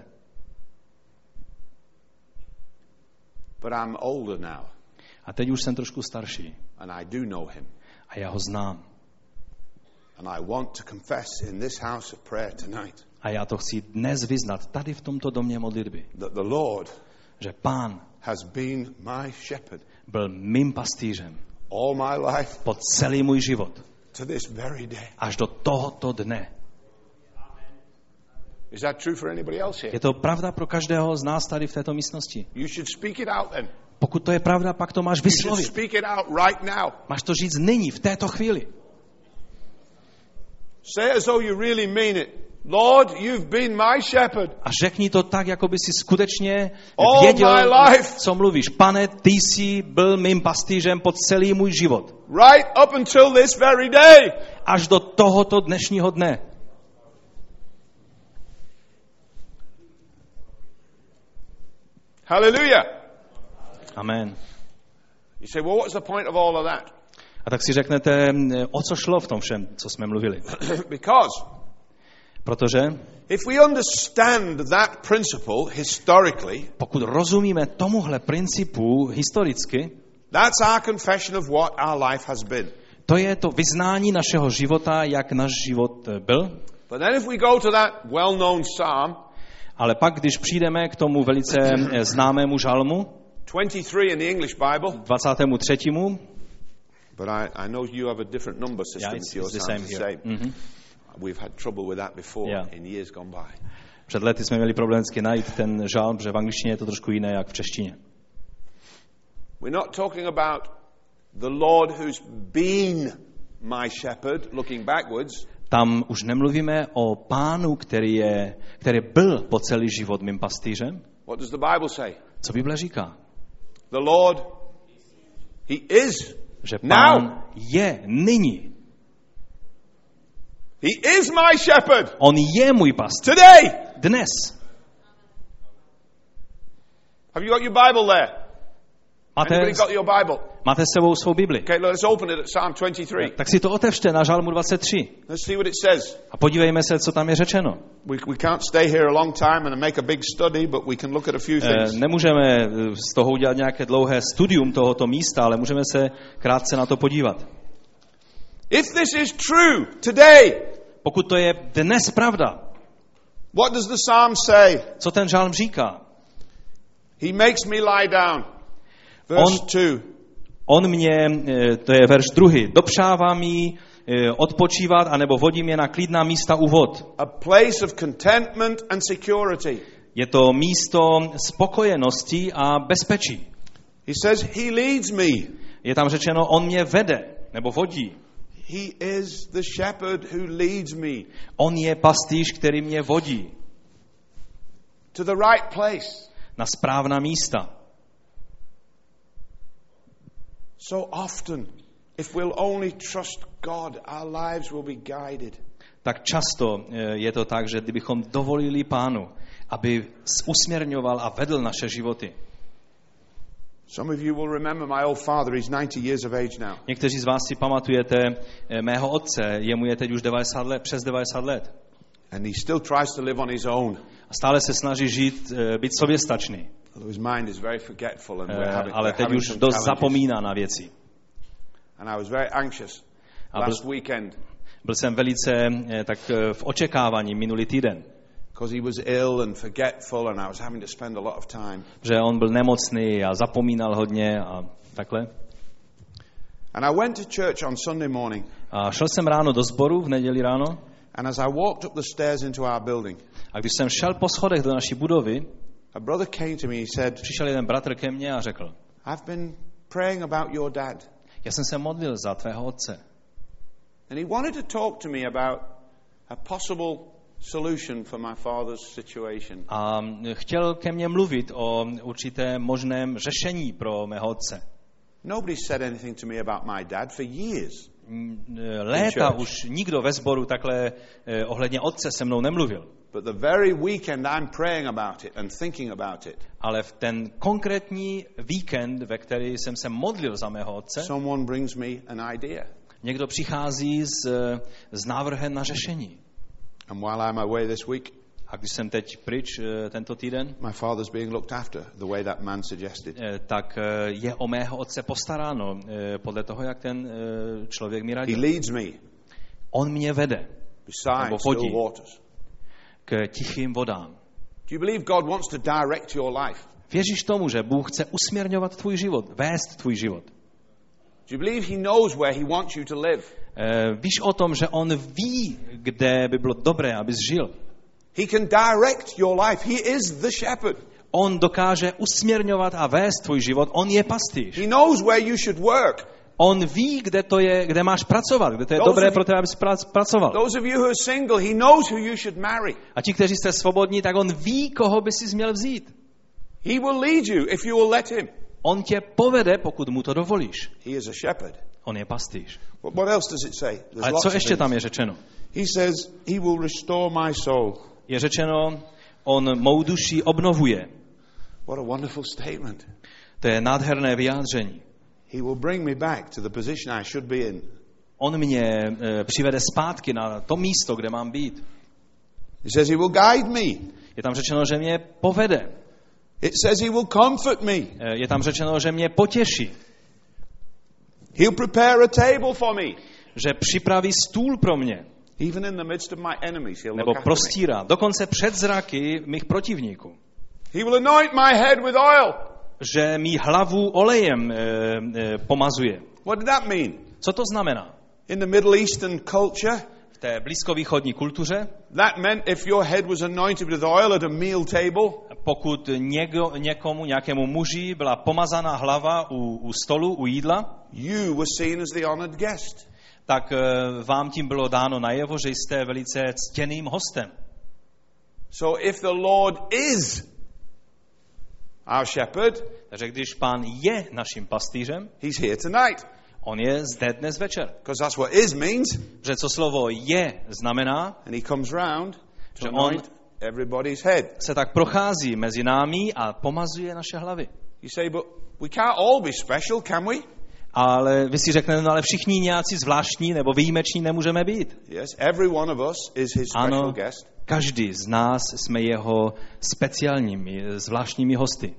But I'm older now, A teď už jsem trošku starší. and I do know him. A já ho znám. And I want to confess in this house of prayer tonight A já to chci dnes vyznat tady v tomto domě modlitby. that the Lord Že Pán has been my shepherd byl mým pastýřem all my life po celý můj život. to this very day. Až do tohoto dne. Is that true for anybody else here? Je to pravda pro každého z nás tady v této místnosti. You should speak it out then. Pokud to je pravda, pak to máš You should vyslovit. speak it out right now. Máš to říct nyní, v této chvíli. Say it as though you really mean it. Lord, you've been my shepherd. A řekni to tak, jako by si skutečně All věděl, my life. co mluvíš. Pane, ty jsi byl mým pastýřem po celý můj život. Right up until this very day. Až do tohoto dnešního dne. Hallelujah. Amen. You say, well, what's the point of all of that? A tak si řeknete, o co šlo v tom všem, co jsme mluvili. Because Protože if we understand that principle historically, pokud rozumíme tomuhle principu historicky, that's our confession of what our life has been. to je to vyznání našeho života, jak náš život byl. But then if we go to that well-known psalm, Ale pak, když přijdeme k tomu velice známému žalmu, twenty-three in the English Bible, dvacátému třetímu, but I, I know you have a different number system Yeah, it's- to yours. it's the same sounds here. the same. Mhm. We've had trouble with that before Yeah. in years gone by. Před lety jsme měli problém vždycky najít ten žalm, protože v angličtině je to trošku jiné, jak v češtině. We're not talking about the Lord who's been my shepherd, looking backwards. Tam už nemluvíme o Pánu, který, je, který byl po celý život mým pastýřem. What does the Bible say? Co Bible říká? The Lord, He is Že now. Pán je nyní. He is my shepherd On je můj pastýř. today. Dnes. Have you got your Bible there? Máte, Anybody got your Bible? máte s sebou svou Bibli. Okay, let's open it at Psalm twenty-three. Tak si to otevřte na žalmu dvacet tři. Let's see what it says. A podívejme se, co tam je řečeno. We, we can't stay here a long time and make a big study, but we can look at a few Eh, things. Nemůžeme z toho udělat nějaké dlouhé studium tohoto místa, ale můžeme se krátce na to podívat. If this is true today, Pokud to je dnes pravda, what does the psalm say? co ten žalm říká? He makes me lie down. Verse On- two. On mě, eh, to je verš druhý, dopřává mi odpočívat, anebo vodím je na klidná místa u vod. A place of contentment and security. Je to místo spokojenosti a bezpečí. He says, he leads me. Je tam řečeno, on mě vede, nebo vodí. He is the shepherd who leads me. On je pastýř, který mě vodí. To the right place. Na správná místa. So often, if we'll only trust God, our lives will be guided. Tak často je to tak, že kdybychom dovolili Pánu, aby usměrňoval a vedl naše životy. Some of you will remember my old father, he's ninety years of age now. Někteří z vás si pamatujete mého otce, jemu je teď už devadesát let, přes devadesát let. And he still tries to live on his own. A stále se snaží žít, být soběstačný. His mind is very forgetful and we're having, ale we're teď už dost zapomíná na věci. And I was very anxious last byl, weekend. Byl jsem velice tak v očekávání minulý týden. Because he was ill and forgetful and I was having to spend a lot of time. Že on byl nemocný a zapomínal hodně a takhle. And I went to church on Sunday morning. A šel jsem ráno do sboru v neděli ráno. And as I walked up the stairs into our building. A když jsem šel po schodech do naší budovy, a brother came to me, he said, přišel jeden bratr ke mně a řekl, I've been praying about your dad. Já jsem se modlil za tvého otce. And he wanted to talk to me about a possible solution for my father's situation. A chtěl ke mně mluvit o určité možném řešení pro mého otce. Nobody said anything to me about my dad for years. Léta už nikdo ve sboru takhle eh, ohledně otce se mnou nemluvil. But the very weekend I'm praying about it and thinking about it. Ale v ten konkrétní víkend, ve který jsem se modlil za mého otce, someone brings me an idea. Někdo přichází s, s návrhem na řešení. And while I'm away this week, a když jsem teď pryč tento týden, my father's being looked after the way that man suggested. Tak je o mého otce postaráno podle toho, jak ten člověk mi radil. He leads me. On mě vede. Beside still waters. K tichým vodám. Do you believe God wants to direct your life? Věříš tomu, že Bůh chce usměrňovat tvůj život, vést tvůj život? Do you believe he knows where he wants you to live? Uh, víš o tom, že on ví, kde by bylo dobré, abys žil? He can direct your life. He is the shepherd. On dokáže usměrňovat a vést tvůj život. On je pastýř. He knows where you should work. On ví, kde to je, kde máš pracovat, kde to je those dobré pro tebe, abys pracoval. Those of you who are single, he knows who you should marry. A ti, kteří jste svobodní, tak on ví, koho by si měl vzít. He will lead you if you will let him. On tě povede, pokud mu to dovolíš. He is a shepherd. On je pastýř. What else does it say? Ale co ještě tam je řečeno? He says, he will restore my soul. Je řečeno, on mou duši obnovuje. What a wonderful statement. To je nádherné vyjádření. He will bring me back to the position I should be in. On mě e, přivede zpátky na to místo, kde mám být. He says he will guide me. Je tam řečeno, že mě povede. It says he will comfort me. E, je tam řečeno, že mě potěší. He'll prepare a table for me. Že připraví stůl pro mě. Even in the midst of my enemies, he'll nebo prostírá, dokonce před zraky mých protivníků. He will anoint my head with oil. Že mi hlavu olejem e, e, pomazuje. What did that mean? Co to znamená? In the Middle Eastern culture, v té blízkovýchodní kultuře, that meant if your head was anointed with oil at a meal table, pokud někdo, někomu, nějakému muži byla pomazaná hlava u, u stolu, u jídla, you were seen as the honored guest. Tak vám tím bylo dáno najevo, že jste velice ctěným hostem. So if the Lord is our shepherd, takže když Pán je naším pastýřem, he's here tonight. On je zde dnes večer. Because that's what is means. Že co slovo je znamená, and he comes round to že on everybody's head. Se tak prochází mezi námi a pomazuje naše hlavy. You say, but we can't all be special, can we? Ale vy si řeknete, no ale všichni nějací zvláštní nebo výjimeční nemůžeme být. Yes, every one of us is his special ano, guest. Každý z nás jsme jeho speciálními, zvláštními hosty.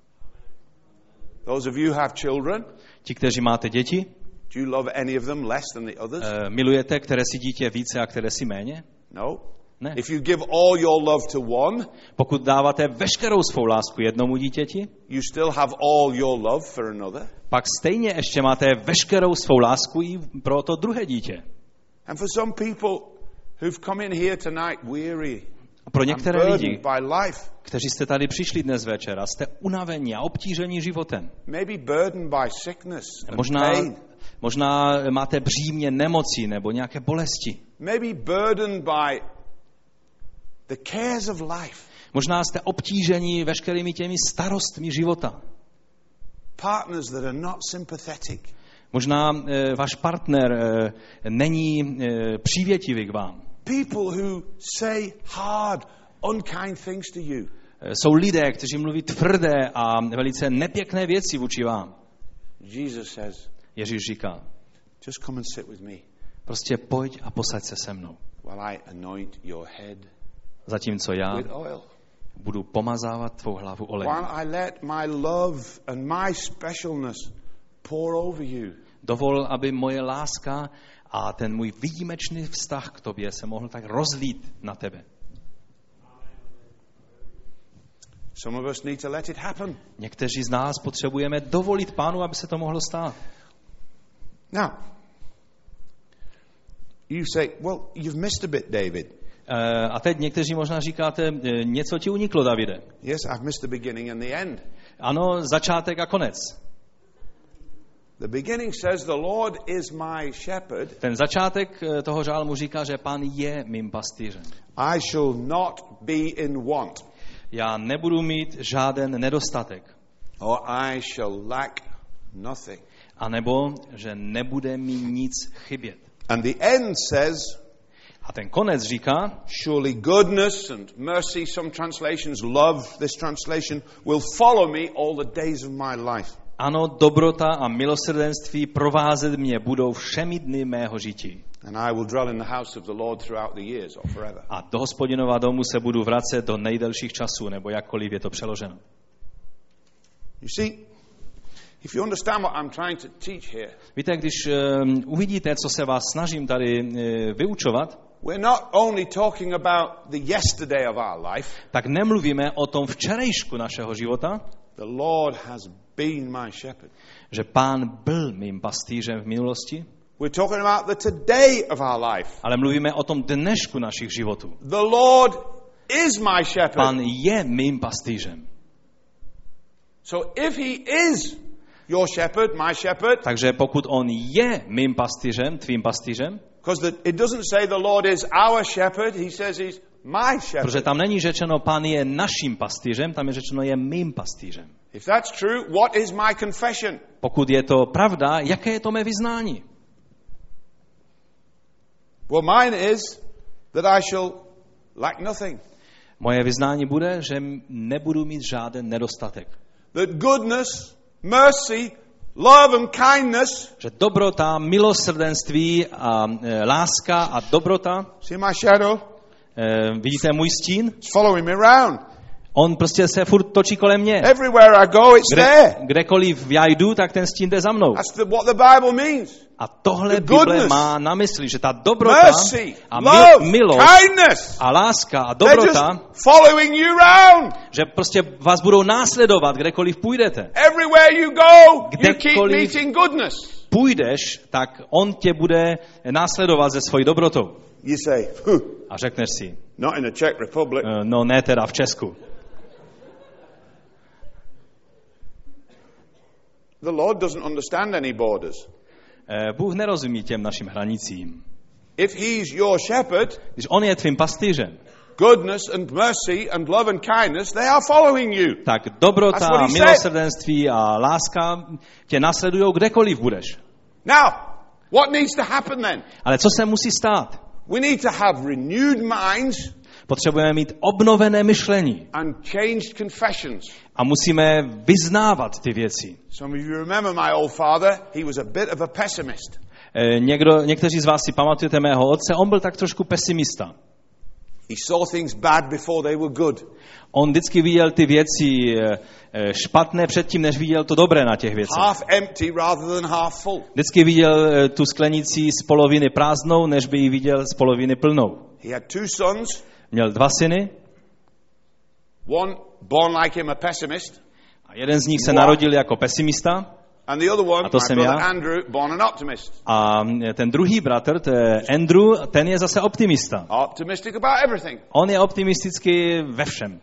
Those of you who have children, ti, kteří máte děti, do you love any of them less than the others? Uh, milujete, které si dítě více a které si méně? No. Ne. If you give all your love to one, pokud dáváte veškerou svou lásku jednomu dítěti, you still have all your love for another. Pak stejně ještě máte veškerou svou lásku i pro to druhé dítě. And for some people who've come in here tonight weary, A pro některé lidi, by life, kteří jste tady přišli dnes večer a jste unavení a obtížení životem. maybe burdened by sickness and Možná, pain, možná máte břímě nemocí nebo nějaké bolesti. maybe burdened by the cares of life, Možná jste obtížení veškerými těmi starostmi života. partners that are not sympathetic, Možná e, váš partner e, není e, přívětivý k vám. people who say hard, unkind things to you. E, jsou lidé, kteří mluví tvrdé a velice nepěkné věci vůči vám. Jesus says, Ježíš říká, just come and sit with me prostě pojď a posaď se se mnou. while I anoint your head Zatímco já with oil. budu pomazávat tvou hlavu olejem. While I let my love and my specialness pour over you. Dovol, aby moje láska a ten můj výjimečný vztah k tobě se mohl tak rozlít na tebe. Some of us need to let it happen. Někteří z nás potřebujeme dovolit Pánu, aby se to mohlo stát. Now, you say, well, you've missed a bit, David. A teď někteří možná říkáte, něco ti uniklo, Davide. Yes, I've missed the beginning and the end. Ano, začátek a konec. The beginning says the Lord is my shepherd. Ten začátek toho žálmu říká, že Pán je mým pastýřem. I shall not be in want. Já nebudu mít žáden nedostatek. Or I shall lack nothing. A nebo, že nebude mi nic chybět. And the end says, a ten konec říká, surely goodness and mercy, some translations love this translation, will follow me all the days of my life. Ano, dobrota a milosrdenství provázet mě budou všemi dny mého žití. And I will dwell in the house of the Lord throughout the years or forever. A do Hospodinova domu se budu vracet do nejdelších časů, nebo jakkoliv je to přeloženo. You see, if you understand what I'm trying to teach here, víte, když um, uvidíte, co se vás snažím tady uh, vyučovat, we're not only talking about the yesterday of our life. Tak nemluvíme o tom včerejšku našeho života. The Lord has been my shepherd. Že Pán byl mým pastýřem v minulosti. We're talking about the today of our life. Ale mluvíme o tom dnešku našich životů. The Lord is my shepherd. Pán je mým pastýřem. So if he is your shepherd, my shepherd. Takže pokud on je mým pastýřem, tvým pastýřem, because it doesn't say the Lord is our shepherd, he says he's my shepherd. Protože tam není řečeno, Pán je naším pastýřem, tam je řečeno, je mým pastýřem. If that's true, what is my confession? Pokud je to pravda, jaké je to mé vyznání? Well, mine is that I shall lack nothing. Moje vyznání bude, že nebudu mít žádný nedostatek. That goodness, mercy, love and kindness, že dobrota, milosrdenství a e, láska a dobrota. See my shadow? E, vidíte můj stín? It's following me around. On prostě se furt točí kolem mě. Everywhere I go, it's Kde, there. Kdekoliv já jdu, tak ten stín jde za mnou. That's the, what the Bible means. A tohle The Bible goodness, má na mysli, že ta dobrota mercy, a love, mil, milost kindness, a láska a they're dobrota, just following you around. že prostě vás budou následovat, kdekoliv půjdete. Everywhere you go, Kdekoliv you keep meeting goodness. Půjdeš, tak on tě bude následovat ze svojí dobrotou. You say, huh, a řekneš si, not in the Czech Republic. No ne teda v Česku. The Lord doesn't understand any borders. Bůh nerozumí těm našim hranicím. If he's your shepherd, když on je tvým pastýřem, goodness and mercy and love and kindness, they are following you. Tak dobrota, milosrdenství a láska tě následujou kdekoliv budeš. Now, what needs to happen then? Ale co se musí stát? We need to have renewed minds. Potřebujeme mít obnovené myšlení. And changed confessions. A musíme vyznávat ty věci. Some of you remember my old father, he was a bit of a pessimist. Někdo, někteří z vás si pamatujete mého otce, on byl tak trošku pesimista. He saw things bad before they were good. On vždycky viděl ty věci špatné předtím, než viděl to dobré na těch věcech. Half empty rather than half full. Vždycky viděl tu sklenici z poloviny prázdnou, než by ji viděl z poloviny plnou. He had two sons. Měl dva syny. One born like him a pessimist. A jeden z nich se narodil jako pesimista. And the other one, A to my jsem brother já. Andrew, born an optimist. A ten druhý bratr, to je Andrew, ten je zase optimista. Optimistic about everything. On je optimistický ve všem.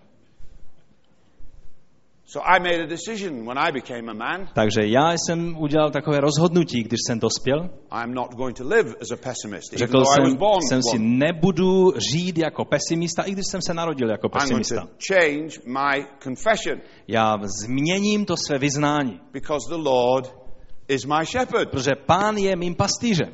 So I made a decision when I became a man. Takže já jsem udělal takové rozhodnutí, když jsem dospěl. I'm not going to live as a pessimist, even Řekl though I was jsem, born jsem si, one. nebudu žít jako pesimista, i když jsem se narodil jako I'm going pesimista. to change my confession Já změním to své vyznání, because the Lord is my shepherd. protože Pán je mým pastýřem.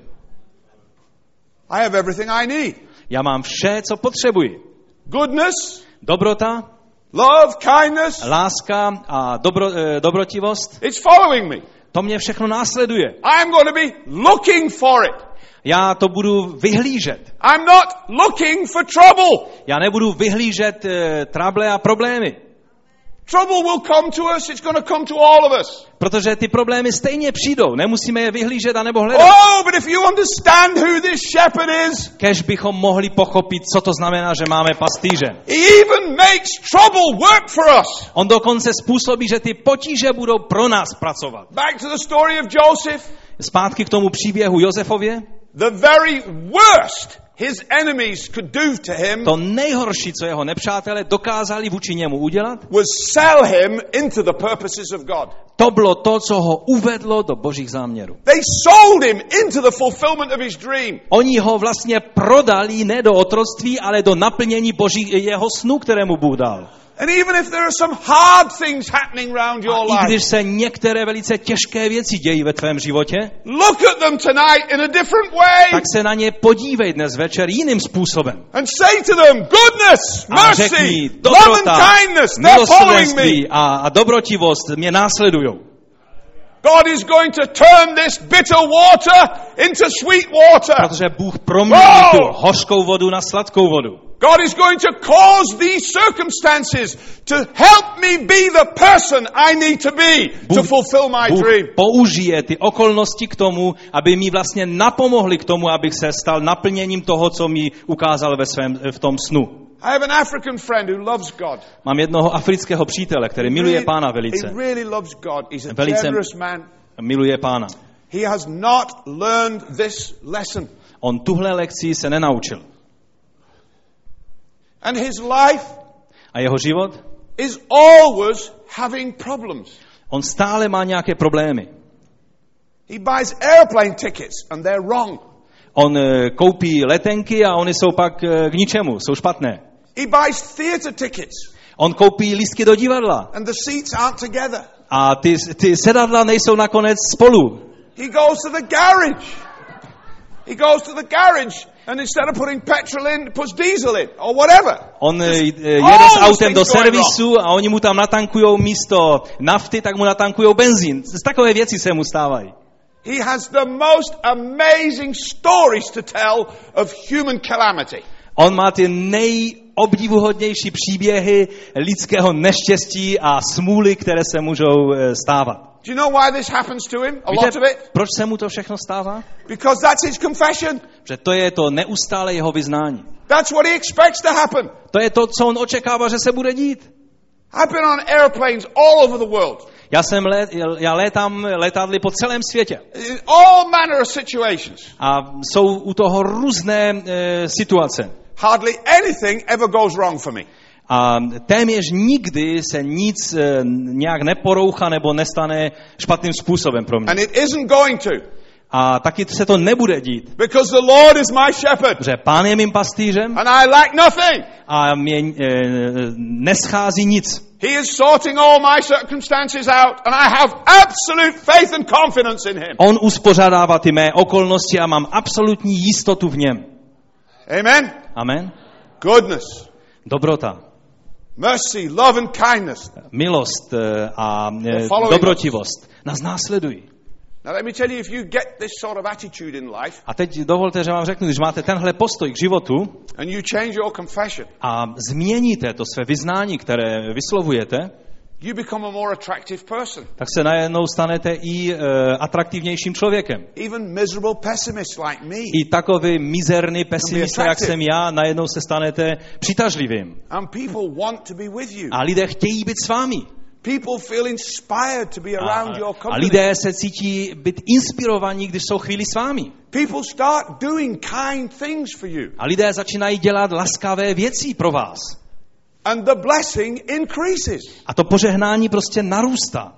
I have everything I need. Já mám vše, co potřebuji. Goodness, Dobrota, love, kindness, láska a dobro, eh, dobrotivost, it's following me. to mě všechno následuje. I'm going to be looking for it. Já to budu vyhlížet. I'm not looking for trouble. Já nebudu vyhlížet eh, trable a problémy, Trouble will come to us. It's going to come to all of us. protože ty problémy stejně přijdou. Nemusíme je vyhlížet a nebo hledat. Oh, but if you understand who this shepherd is, Kež bychom mohli pochopit, co to znamená, že máme pastýře. he even makes trouble work for us. On dokonce způsobí, že ty potíže budou pro nás pracovat. Back to the story of Joseph. Zpátky k tomu příběhu Josefově. The very worst his enemies could do to him To nejhorší, co jeho nepřátelé dokázali vůči němu udělat, was sell him into the purposes of God. to bylo to, co ho uvedlo do božích záměrů. They sold him into the fulfillment of his dream. Oni ho vlastně prodali ne do otroctví, ale do naplnění boží, jeho snu, kterému Bůh dal. And even if there are some hard things happening around your A i life, když se některé velice těžké věci dějí ve tvém životě, look at them tonight in a different way tak se na ně podívej dnes večer jiným způsobem. and say to them, goodness, A řekni, mercy, love dobrota, and kindness, they're following me. milosrdenství a, a dobrotivost mě následujou. God is going to turn this bitter water into sweet water. Protože Bůh promění tu hořkou vodu na sladkou vodu. God is going to cause these circumstances to help me be the person I need to be to fulfill my Bůh dream. použije ty okolnosti k tomu, aby mi vlastně napomohli k tomu, abych se stal naplněním toho, co mi ukázal ve svém, v tom snu. I have an African friend who loves God. Mám jednoho afrického přítele, který miluje Pána velice. He really loves God. He's a Velice generous man. miluje Pána. He has not learned this lesson. On tuhle lekci se nenaučil. And his life A jeho život? is always having problems. On stále má nějaké problémy. He buys airplane tickets and they're wrong. On e, koupí letenky a oni jsou pak e, k ničemu, jsou špatné. He buys theater tickets On koupí lístky do divadla and the seats aren't together. a ty, ty sedadla nejsou nakonec spolu. He goes to the garage. He goes to the garage and instead of putting petrol in, puts diesel in or whatever. On e, Just jede s all autem do things going servisu a oni mu tam natankujou místo nafty, tak mu natankujou benzín. Z takové věci se mu stávají. He has the most amazing stories to tell of human calamity. On má ty nejobdivuhodnější příběhy lidského neštěstí a smůly, které se můžou e, stávat. Do you know why this happens to him? A Víte, lot of it? proč se mu to všechno stává? Because that's his confession. Že to je to neustále jeho vyznání. That's what he expects to happen. To je to, co on očekává, že se bude dít. I've been on airplanes all over the world. Já jsem let, já létám letadly po celém světě. In all manner of situations. A jsou u toho různé e, situace. Hardly anything ever goes wrong for me. A téměř nikdy se nic e, nějak neporoucha nebo nestane špatným způsobem pro mě. And it isn't going to. A taky se to nebude dít. Because the Lord is my shepherd. Že Pán je mým pastýřem And I lack nothing. a mě e, neschází nic. He is sorting all my circumstances out. And I have absolute faith and confidence in him. On uspořádává ty mé okolnosti a mám absolutní jistotu v něm. Amen. Amen. Goodness, Dobrota, mercy, love and kindness. milost e, a e, following dobrotivost nás následují. Now let me tell you, if you get this sort of attitude in life A teď dovolte, že vám řeknu, když máte tenhle postoj k životu and you change your confession, a změníte to své vyznání, které vyslovujete, you become a more attractive person. tak se najednou stanete i e, atraktivnějším člověkem. Even miserable pessimists like me. I takový mizerný pesimista, jak jsem já, najednou se stanete přitažlivým. And people want to be with you. A lidé chtějí být s vámi. People feel inspired to be around your A company. lidé se cítí být inspirovaní, když jsou chvíli s vámi. People start doing kind things for you. A lidé začínají dělat laskavé věci pro vás. And the blessing increases. A to požehnání prostě narůstá.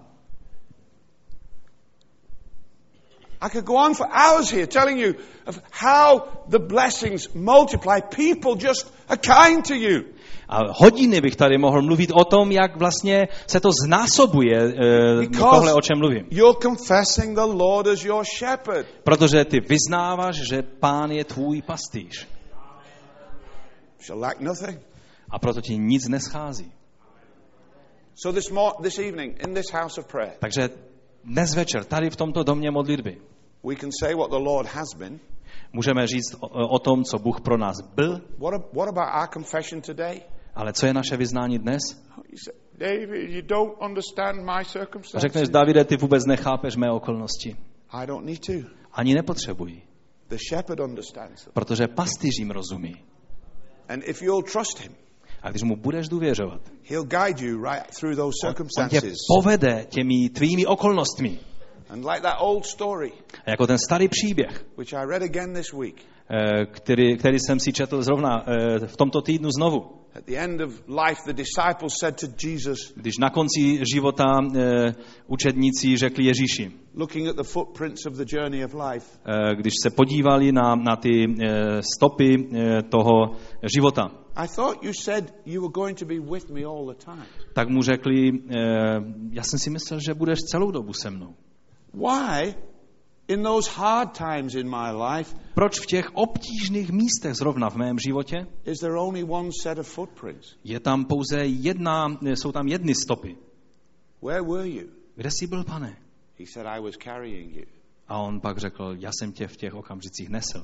I could go on for hours here telling you of how the blessings multiply. People just are kind to you. A hodiny bych tady mohl mluvit o tom, jak vlastně se to znásobuje, eh, tohle, o čem mluvím. You're confessing the Lord as your shepherd. Protože ty vyznáváš, že Pán je tvůj pastýř. Shall lack nothing. A proto ti nic neschází. So this mo- this evening in this house of prayer. Takže dnes večer tady v tomto domě modlitby We can say what the Lord has been. můžeme říct o, o tom, co Bůh pro nás byl. What, a, what about our confession today? Ale co je naše vyznání dnes? You say, David, you don't understand my circumstances. Řekneš, Davide, ty vůbec nechápeš mé okolnosti. I don't need to. Ani nepotřebuji. The shepherd understands them. Protože pastýř jim rozumí. And if you'll trust him, a když mu budeš důvěřovat, he'll guide you right through those on tě circumstances. povede těmi tvými okolnostmi. And like that old story, a jako ten starý příběh, which I read again this week, který, který jsem si četl zrovna v tomto týdnu znovu. At the end of life, the disciples said to Jesus, když na konci života učedníci řekli Ježíši, looking at the footprints of the journey of life, když se podívali na, na ty stopy toho života, I thought you said you were going to be with me all the time. Tak mu řekli, já jsem si myslel, že budeš celou dobu se mnou. Why, in those hard times in my life, proč v těch obtížných místech zrovna v mém životě is there only one set of footprints? Je tam pouze jedna, jsou tam jedny stopy. Where were you? Kde jsi byl, Pane? He said, I was carrying you. A on pak řekl, já jsem tě v těch okamžicích nesl.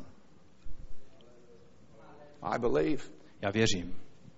I believe. Já věřím.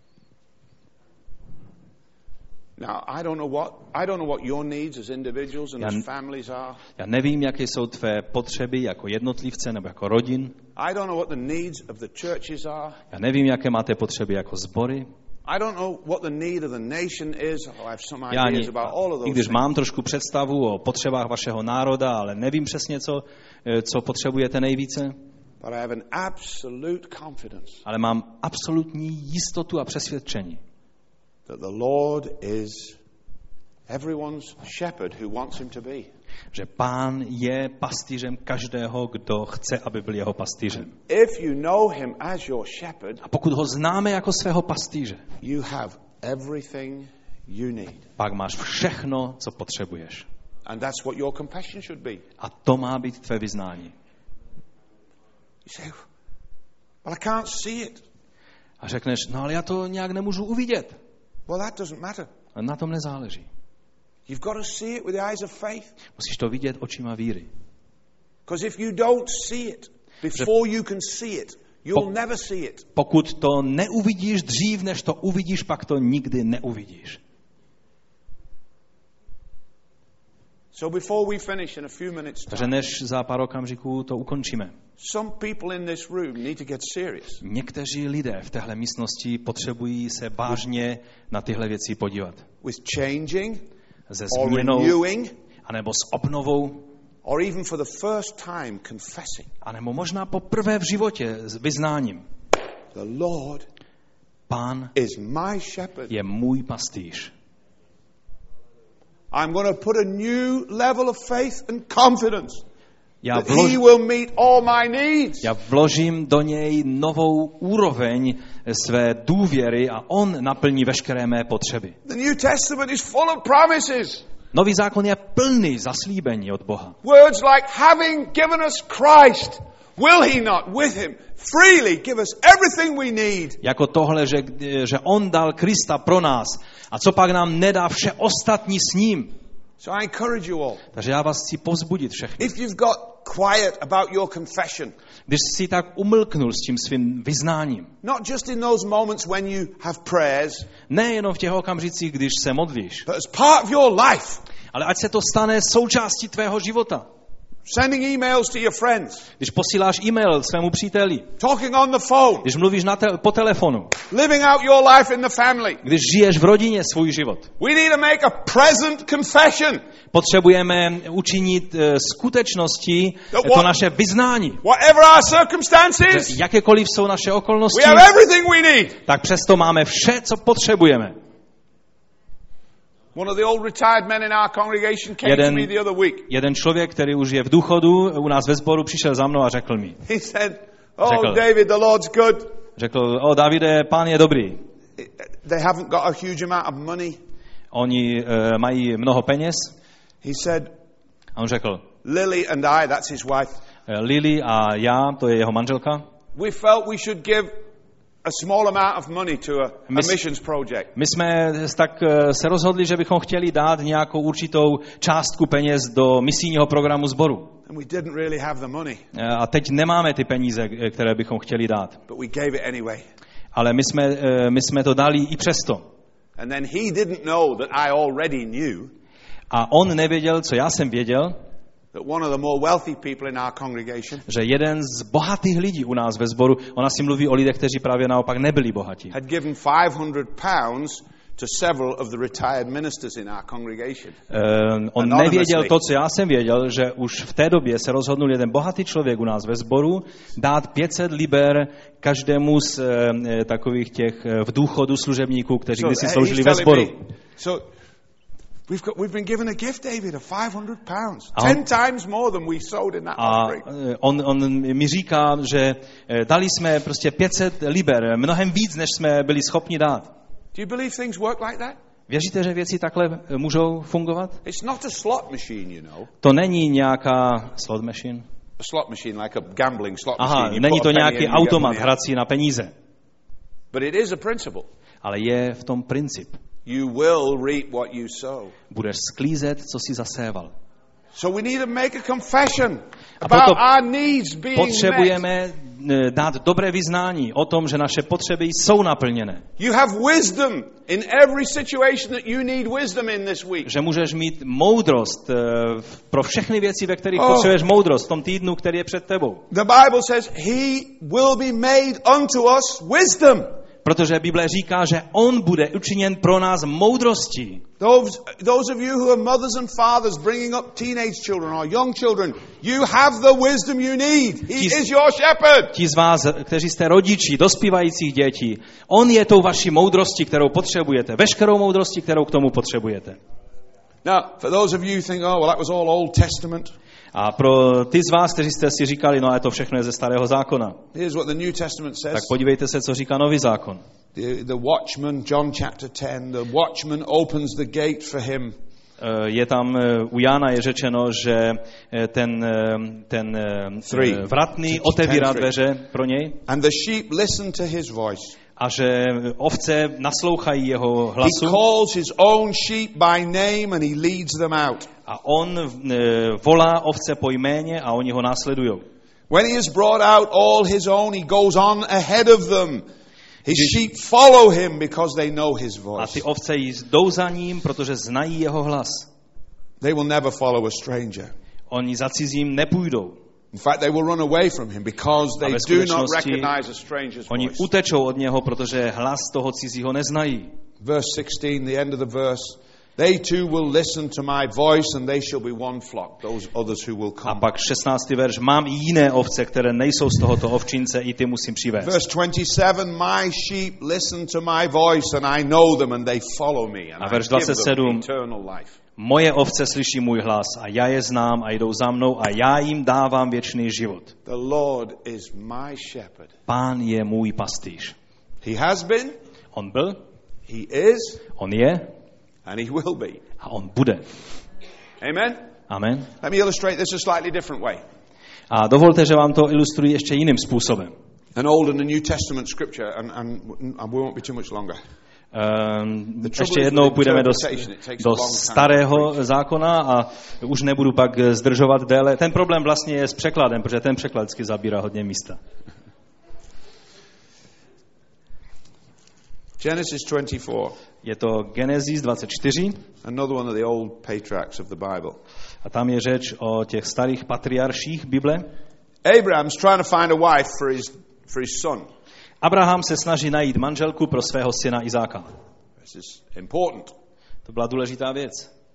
Now, I don't know what I don't know what your needs as individuals and já, as families are. Já nevím, jaké jsou tvé potřeby jako jednotlivce nebo jako rodin. I don't know what the needs of the churches are. Já nevím, jaké máte potřeby jako sbory. I don't know what the need of the nation is. Oh, I have some Já ideas ani, about all of those. I když things. mám trošku představu o potřebách vašeho národa, ale nevím přesně, co, co potřebujete nejvíce. But I have an absolute confidence. Ale mám absolutní jistotu a přesvědčení. That the Lord is everyone's shepherd who wants him to be. Že Pán je pastýřem každého, kdo chce, aby byl jeho pastýřem. If you know him as your shepherd, a pokud ho známe jako svého pastýře, you have everything you need. Pak máš všechno, co potřebuješ. And that's what your confession should be. A to má být tvé vyznání. You say, well, I can't see it. A řekneš, no ale já to nějak nemůžu uvidět. Well, that doesn't matter. A na tom nezáleží. You've got to see it with the eyes of faith. Musíš to vidět očima víry. Because if you don't see it before you can see it, you'll never see it. Pokud to neuvidíš dřív, než to uvidíš, pak to nikdy neuvidíš. So before we finish in a few minutes time, Takže než za pár okamžiků to ukončíme. Some people in this room need to get serious. Někteří lidé v téhle místnosti potřebují se vážně na tyhle věci podívat. With changing, se or změnou, renewing, anebo s obnovou, or even for the first time confessing. Anebo možná poprvé v životě s vyznáním. The Lord Pán is my shepherd. Je můj pastýř. I'm going to put a new level of faith and confidence. Já, that vlož... he will meet all my needs. Já vložím do něj novou úroveň své důvěry a on naplní veškeré mé potřeby. The New Testament is full of promises. Nový zákon je plný zaslíbení od Boha. Words like having given us Christ, will he not with him freely give us everything we need? Jako tohle, že, že on dal Krista pro nás. A co pak nám nedá vše ostatní s ním? So I encourage you all. Takže já vás chci povzbudit všechny. If you've got quiet about your confession. Když jsi tak umlknul s tím svým vyznáním. Not just in those moments when you have prayers. Nejenom v těch okamžicích, když se modlíš. But as part of your life. Ale ať se to stane součástí tvého života. Sending emails to your friends. Když posíláš e-mail svému příteli. Talking on the phone. Když mluvíš na te- po telefonu. Living out your life in the family. Když žiješ v rodině svůj život. We need to make a present confession. Potřebujeme učinit uh, skutečnosti to naše vyznání. Whatever our circumstances. Jakékoliv jsou naše okolnosti. We have everything we need. Tak přesto máme vše, co potřebujeme. One of the old retired men in our congregation came jeden, to me the other week. Jeden člověk, který už je v důchodu, u nás ve sboru přišel za mnou a řekl mi. He said, "Oh, řekl, David, the Lord's good." Řekl, o Davide, Pán je dobrý. They haven't got a huge amount of money. Oni uh, mají mnoho peněz. He said, a on řekl, Lily and I, that's his wife. Lily a já, to je jeho manželka. We felt we should give a small amount of money to a, a missions project. My jsme tak se rozhodli, že bychom chtěli dát nějakou určitou částku peněz do misijního programu sboru. And we didn't really have the money. A teď nemáme ty peníze, které bychom chtěli dát. But we gave it anyway. Ale my jsme, my jsme to dali i přesto. And then he didn't know that I already knew. A on nevěděl, co já jsem věděl. That one of the more wealthy people in our congregation, že jeden z bohatých lidí u nás ve sboru, ona si mluví o lidech, kteří právě naopak nebyli bohatí. Had given five hundred pounds to several of the retired ministers in our congregation. Uh, on nevěděl to, co já jsem věděl, že už v té době se rozhodnul jeden bohatý člověk u nás ve sboru dát pět set liber každému z uh, takových těch uh, v důchodu služebníků, kteří so, kdysi sloužili ve sboru. So, We've got, we've been given a gift, David, of five hundred pounds. Ten times more than we sowed in that offering. A on, on mi říká, že dali jsme prostě pět set liber, mnohem víc, než jsme byli schopni dát. Do you believe things work like that? Věříte, že věci takhle můžou fungovat? It's not a slot machine, you know. To není nějaká slot machine. A slot machine, like a gambling slot Aha, machine. není to nějaký automat hrací na peníze. But it is a principle. Ale je v tom princip. You will reap what you sow. Budeš sklízet, co jsi zaséval. So we need to make a confession about our needs being potřebujeme met. dát dobré vyznání o tom, že naše potřeby jsou naplněné. You have wisdom in every situation that you need wisdom in this week. Že můžeš mít moudrost pro všechny věci, ve kterých oh. potřebuješ moudrost v tom týdnu, který je před tebou. The Bible says he will be made unto us wisdom. Protože Bible říká, že on bude učiněn pro nás moudrostí. Those, those of you who are mothers and fathers bringing up teenage children or young children, you have the wisdom you need. He ti, is your shepherd. Ti z vás, kteří jste rodiči, dospívajících dětí, on je tou vaší moudrostí, kterou potřebujete. Veškerou moudrostí, kterou k tomu potřebujete. Now, for those of you who think, oh, well, that was all Old Testament. A pro ty z vás, kteří jste si říkali, no a to všechno je ze Starého zákona. Here's what the New Testament says. Tak podívejte se, co říká Nový zákon. The, the watchman, John chapter ten, the watchman opens the gate for him. Je tam, u Jána je řečeno, že ten, ten vratný otevírá dveře pro něj. And the sheep listen to his voice. A že ovce naslouchají jeho hlasu. He calls his own sheep by name and he leads them out. A on volá ovce po jméně a oni ho následujou. When he has brought out all his own, he goes on ahead of them. His sheep follow him because they know his voice. A ty ovce jdou za ním, protože znají jeho hlas. They will never follow a stranger. Oni za cizím nepůjdou. In fact, they will run away from him because they do not recognize a stranger's oni voice. utečou od něho, protože hlas toho cizího neznají. Verse sixteen, the end of the verse. They too will listen to my voice and they shall be one flock, those others who will come. A pak šestnáctý verš, mám i jiné ovce, které nejsou z tohoto ovčince, i ty musím přivést. Verse twenty-seven, my sheep listen to my voice and I know them and they follow me and a verš I give dvacet them sedm, eternal life. Moje ovce slyší můj hlas a já je znám a jdou za mnou a já jim dávám věčný život. The Lord is my shepherd. Pán je můj pastýř. He has been. On byl. He is. On je. And he will be. A on bude. Amen. Amen. Let me illustrate this a slightly different way. A dovolte, že vám to ilustruji ještě jiným způsobem. An Old and a New Testament scripture and, and, and we won't be too much longer. Um, ještě jednou půjdeme do, do starého zákona a už nebudu pak zdržovat déle. Ten problém vlastně je s překladem, protože ten překlad vždycky zabírá hodně místa. Genesis twenty-four. Je to Genesis dvacet čtyři. Another one of the old patriarchs of the Bible. A tam je řeč o těch starých patriarších Bible. Abraham's trying to find a wife for his, for his son. Abraham se snaží najít manželku pro svého syna Izáka. This is important. To byla důležitá věc.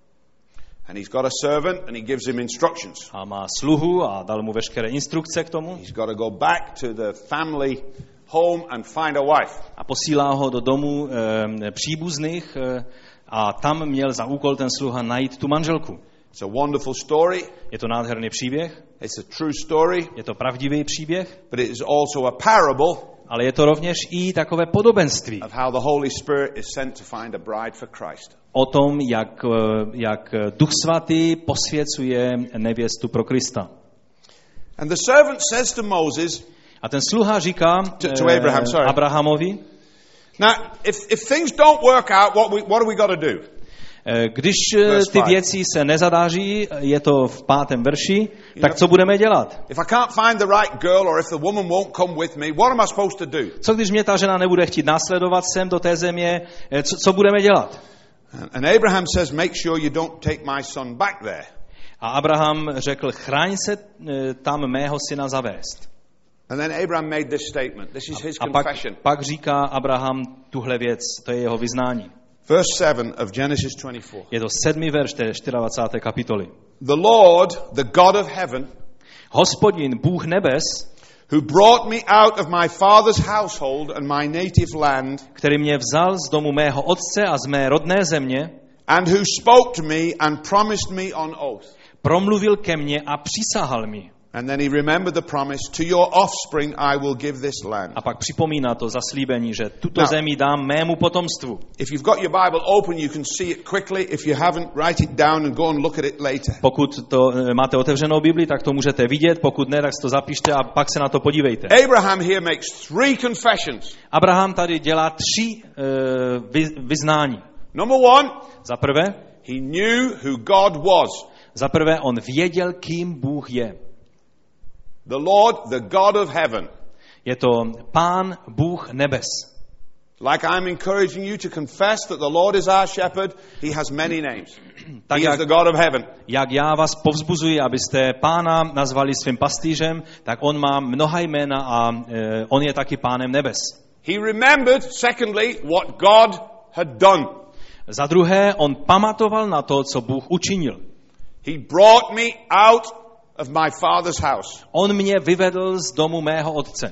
And he's got a servant and he gives him instructions. A má sluhu a dal mu veškeré instrukce k tomu. He's got to go back to the family home and find a wife. A posílá ho do domu e, příbuzných e, a tam měl za úkol ten sluha najít tu manželku. It's a wonderful story. Je to nádherný příběh. It's a true story. Je to pravdivý příběh. But it is also a parable. Ale je to rovněž i takové podobenství. Of how the Holy Spirit is sent to find a bride for Christ. O tom, jak, jak Duch Svatý posvěcuje nevěstu pro Krista. And the servant says to Moses, a ten sluha říká to, to Abraham, sorry. Abrahamovi, now, if, if things don't work out, what, we, what do we got to do? Když ty věci se nezadáří, je to v pátém verši, tak co budeme dělat? If I can't find the right girl or if the woman won't come with me, what am I supposed to do? Co když mě ta žena nebude chtít následovat sem do té země, co, co budeme dělat? And Abraham says, make sure you don't take my son back there. A Abraham řekl, chraň se tam mého syna zavést. And then Abraham made this statement. This is his a pak, confession. pak říká Abraham tuhle věc, to je jeho vyznání. Verse seven of Genesis twenty-four. Je to sedmý verš té dvacáté čtvrté kapitoly. The Lord, the God of heaven, Hospodin, Bůh nebes, who brought me out of my father's household and my native land, který mě vzal z domu mého otce a z mé rodné země, and who spoke to me and promised me on oath. Promluvil ke mně a přísahal mi. And then he remembered the promise, to your offspring I will give this land. A pak připomíná to zaslíbení, že tuto Now, zemi dám mému potomstvu. If you've got your Bible open, you can see it quickly. If you haven't, write it down and go and look at it later. Pokud to máte otevřenou Bibli, tak to můžete vidět, pokud ne, tak si to zapište a pak se na to podívejte. Abraham here makes three confessions. Abraham tady dělá tři uh, vy, vyznání. Number one, za prvé, he knew who God was. Za prvé, on věděl, kým Bůh je. The Lord, the God of heaven. Je to Pán, Bůh nebes. Like I'm encouraging you to confess that the Lord is our shepherd, he has many names. Tak he jak, is the God of heaven. Jak já vás povzbuzuji, abyste Pána nazvali svým pastýřem, tak on má mnoha jména a uh, on je taky Pánem nebes. He remembered, secondly, what God had done. Za druhé, on pamatoval na to, co Bůh učinil. He brought me out of my father's house. On mě vyvedl z domu mého otce.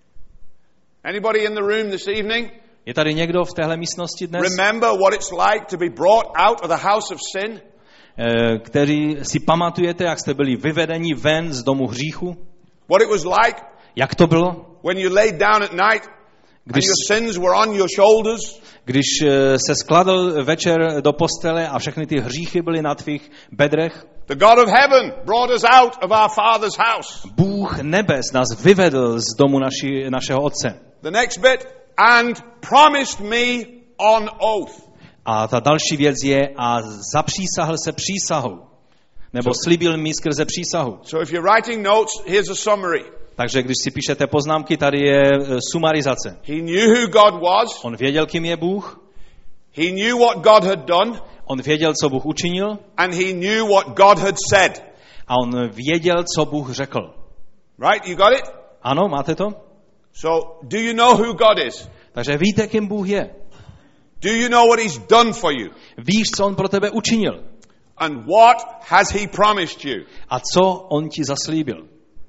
Anybody in the room this evening? Je tady někdo v téhle místnosti dnes? Remember what it's like to be brought out of the house of sin? Který si pamatujete, jak jste byli vyvedeni ven z domu hříchu? What it was like? Jak to bylo? When you laid down at night Když, and your sins were on your shoulders? Když se skladl večer do postele a všechny ty hříchy byly na tvých bedrech? The God of heaven brought us out of our father's house. Bůh nebes nás vyvedl z domu naši, našeho otce. The next bit, and promised me on oath. A ta další věc je, a zapřísahl se přísahou. Nebo So, slíbil mi skrze přísahu. So if you're writing notes, here's a summary. Takže když si píšete poznámky, tady je sumarizace. He knew who God was. On věděl, kým je Bůh. He knew what God had done. On věděl, co Bůh učinil. And he knew what God had said. A on věděl, co Bůh řekl. Right? You got it? Ano, máte to? So, do you know who God is? Takže víte, kým Bůh je. Do you know what he's done for you? Víš, co on pro tebe učinil. And what has he promised you? A co on ti zaslíbil.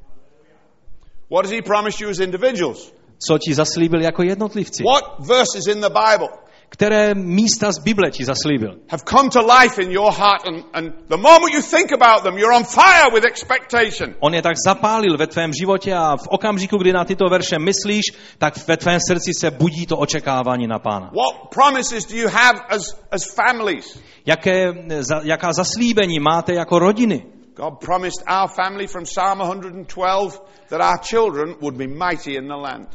What has he promised you as individuals? Co ti zaslíbil jako jednotlivci. What verses in the Bible? Které místa z Bible ti zaslíbil. Have come to life in your heart and, and the moment you think about them, you're on fire with expectation. On je tak zapálil ve tvém životě a v okamžiku, kdy na tyto verše myslíš, tak ve tvém srdci se budí to očekávání na Pána. What promises do you have as, as families? Jaké, za, jaká zaslíbení máte jako rodiny? God promised our family from Psalm one twelve that our children would be mighty in the land.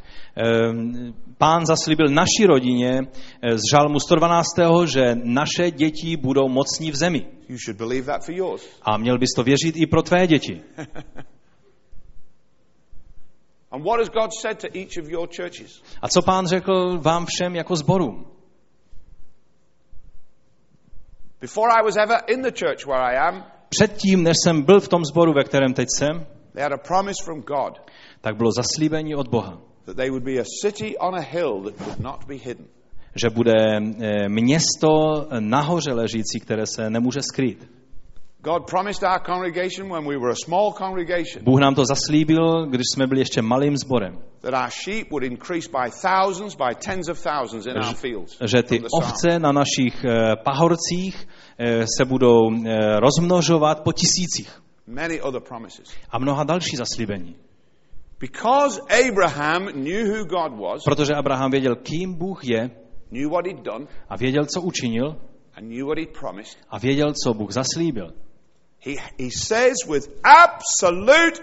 Pán zaslíbil naší rodině z Žalmu sto dvanáct, že naše děti budou mocní v zemi. You should believe that for yours. A měl bys to věřit i pro tvé děti. And what has God said to each of your churches? A co Pán řekl vám všem jako sborům? Before I was ever in the church where I am, Předtím, než jsem byl v tom sboru, ve kterém teď jsem, they had a promise from God tak bylo zaslíbení od Boha, that they would be a city on a hill that could not be hidden. že bude město nahoře ležící, které se nemůže skrýt. God promised our congregation when we were a small congregation Bůh nám to zaslíbil, když jsme byli ještě malým sborem, that our sheep would increase by thousands, by tens of thousands in our fields. že ty ovce na našich pahorcích se budou rozmnožovat po tisících. Many other promises. A mnoha další zaslíbení. Because Abraham knew who God was, Protože Abraham věděl, kým Bůh je, knew what he'd done, a věděl, co učinil, and knew what he'd promised, a věděl, co Bůh zaslíbil. he, he says with absolute,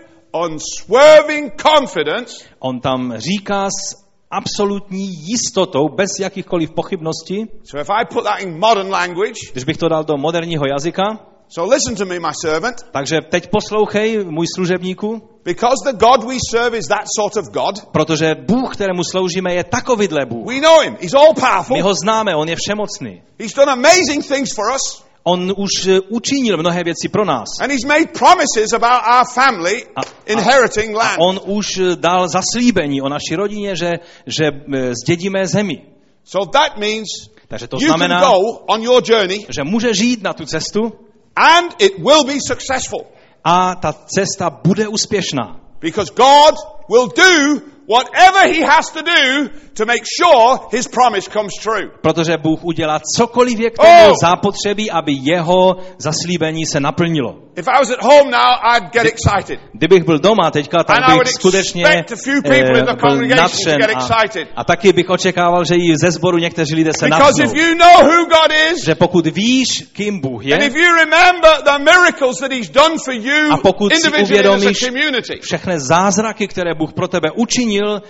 unswerving confidence, On tam říká s absolutní jistotou, bez jakýchkoliv pochybností, so if I put that in modern language, když bych to dal do moderního jazyka, so listen to me, my servant, takže teď poslouchej, můj služebníku, because the God we serve is that sort of God, protože Bůh, kterému sloužíme, je takovýhle Bůh. we know him, he's all powerful, My ho známe, on je všemocný. he's done amazing things for us, On už učinil mnohé věci pro nás. and he's made promises about our family A, inheriting a land. on už dal zaslíbení o naší rodině, že, že zdědíme zemi. So that means Takže to you can znamená, go on your journey že může žít na tu cestu and it will be successful. a ta cesta bude úspěšná. Because God will do whatever he has to do to make sure his promise comes true. Protože Bůh udělá cokoliv je k tomu Oh! zapotřebí, aby jeho zaslíbení se naplnilo. If I was at home now, I'd get excited. Kdybych byl doma teďka, And I tak would bych skutečně expect a few people in the eh, byl congregation to nadšen get a, excited. a taky bych očekával, že i ze sboru někteří lidé se Because nadchnou. if you know who God is, Že pokud víš, kým Bůh and je, if you remember the miracles that he's done for you a pokud si individually as a uvědomíš community, všechny zázraky, které Bůh pro tebe učinil,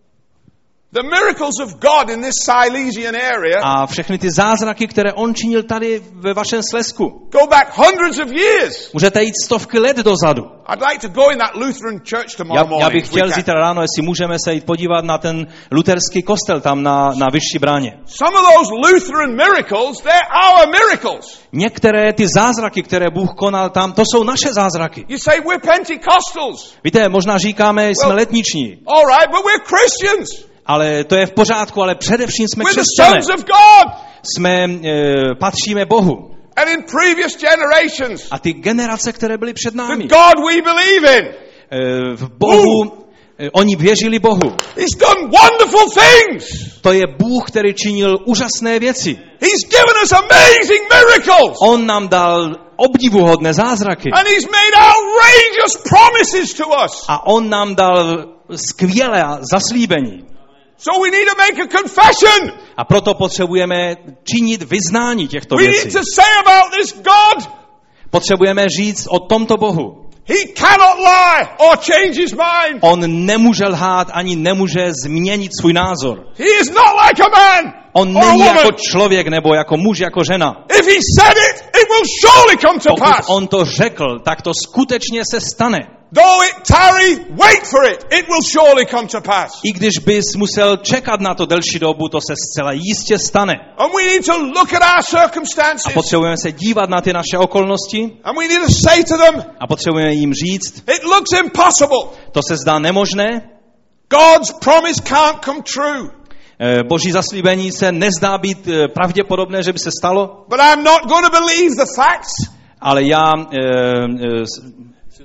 the miracles of God in this Silesian area a všechny ty zázraky, které on činil tady ve vašem Slezsku, go back hundreds of years. můžete jít stovky let dozadu. I'd like to go in that Lutheran church tomorrow Já, morning. já bych if we chtěl can. zítra ráno, jestli můžeme se jít podívat na ten luterský kostel tam na, na Vyšší bráně. Some of those Lutheran miracles, they're our miracles. Některé ty zázraky, které Bůh konal tam, to jsou naše zázraky. You say we're Pentecostals. Víte, možná říkáme, jsme Well- letniční, All right, but we're Christians. ale to je v pořádku, ale především jsme We're the křesťané. sons of God. Jsme, e, patříme Bohu. And in previous generations, A ty generace, které byly před the námi, God we believe in, e, v Bohu, e, oni věřili Bohu. he's done wonderful things. To je Bůh, který činil úžasné věci. He's given us amazing miracles. On nám dal obdivuhodné zázraky. And he's made outrageous promises to us. A on nám dal skvělé zaslíbení. So we need to make a confession. A proto potřebujeme činit vyznání těchto We need věcí. to say about this God, Potřebujeme říct o tomto Bohu. he cannot lie or change his mind. On nemůže lhát, ani nemůže změnit svůj názor. He is not like a man On or a není woman. jako člověk, nebo jako muž, jako žena. If he said it, it will surely come to Pokud pass. on to řekl, tak to skutečně se stane. Though it tarry, wait for it. It will surely come to pass. I když bys musel čekat na to delší dobu, to se zcela jistě stane. And we need to look at our A circumstances. potřebujeme se dívat na ty naše okolnosti And we need to say to them, a potřebujeme jim říct, it looks impossible. to se zdá nemožné, God's promise can't come true. Eh, Boží zaslíbení se nezdá být eh, pravděpodobné, že by se stalo, But I'm not going to believe the facts. ale já eh, eh, s-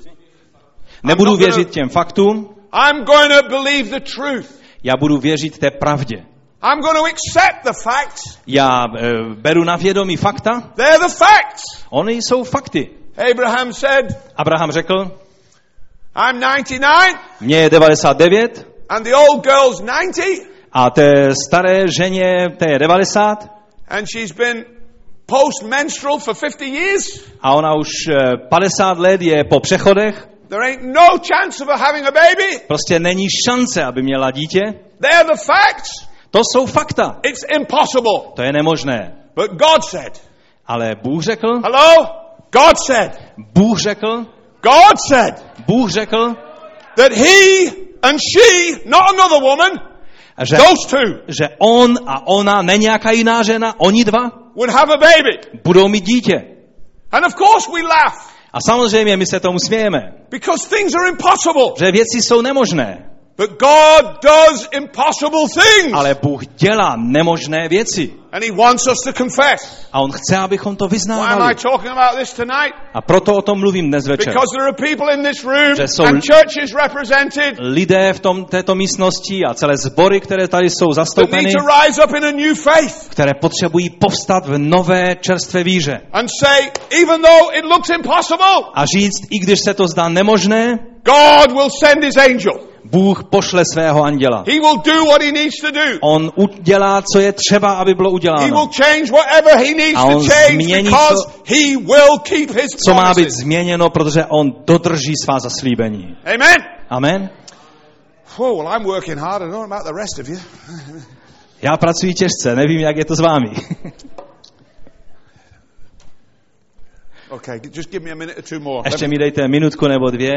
nebudu věřit těm faktům, I'm going to believe the truth. já budu věřit té pravdě. I'm going to accept the facts. Já eh, beru na vědomí fakta, They're the facts. ony jsou fakty. Abraham said, Abraham řekl, I'm ninety-nine mně je devadesát devět and the old girl's ninety a té staré ženě, té je devadesát and she's been post-menstrual for fifty years. a ona už eh, padesát let je po přechodech. There ain't no chance of her having a baby. Prostě není šance, aby měla dítě. They're the facts. To jsou fakta. It's impossible. To je nemožné. But God said, Ale Bůh řekl, hello? God said, Bůh řekl, God said Bůh řekl, that he And she, not another woman, že, those two že on a ona, ne nějaká jiná žena, oni dva would have a baby. budou mít dítě. And of course we laugh. A samozřejmě my se tomu smějeme, Because things are impossible. že věci jsou nemožné. But God does impossible things. Ale Bůh dělá nemožné věci. And he wants us to confess. A on chce, abychom to Why am vyznávali. I talking about this tonight? A proto o tom mluvím dnes večer. Because there are people in this room Že jsou and churches represented lidé v tom, této místnosti a celé sbory, které tady jsou that need zastoupeny, to rise up in a new faith které potřebují povstat v nové čerstvé víře. and say, even though it looks impossible, A říct, i když se to zdá nemožné, God will send his angel. Bůh pošle svého anděla. He will do what he needs to do. On udělá, co je třeba, aby bylo He will uděláno. change whatever he needs A to on change změní, because co- he will keep his Co má být promises. změněno, protože on dodrží svá zaslíbení. Amen. Amen. Oh, well, I'm working hard. I don't know about the rest of you. Já pracuji těžce, nevím, jak je to s vámi. Okay, just give me a minute or two more. Let Ještě me- mi dejte minutku nebo dvě.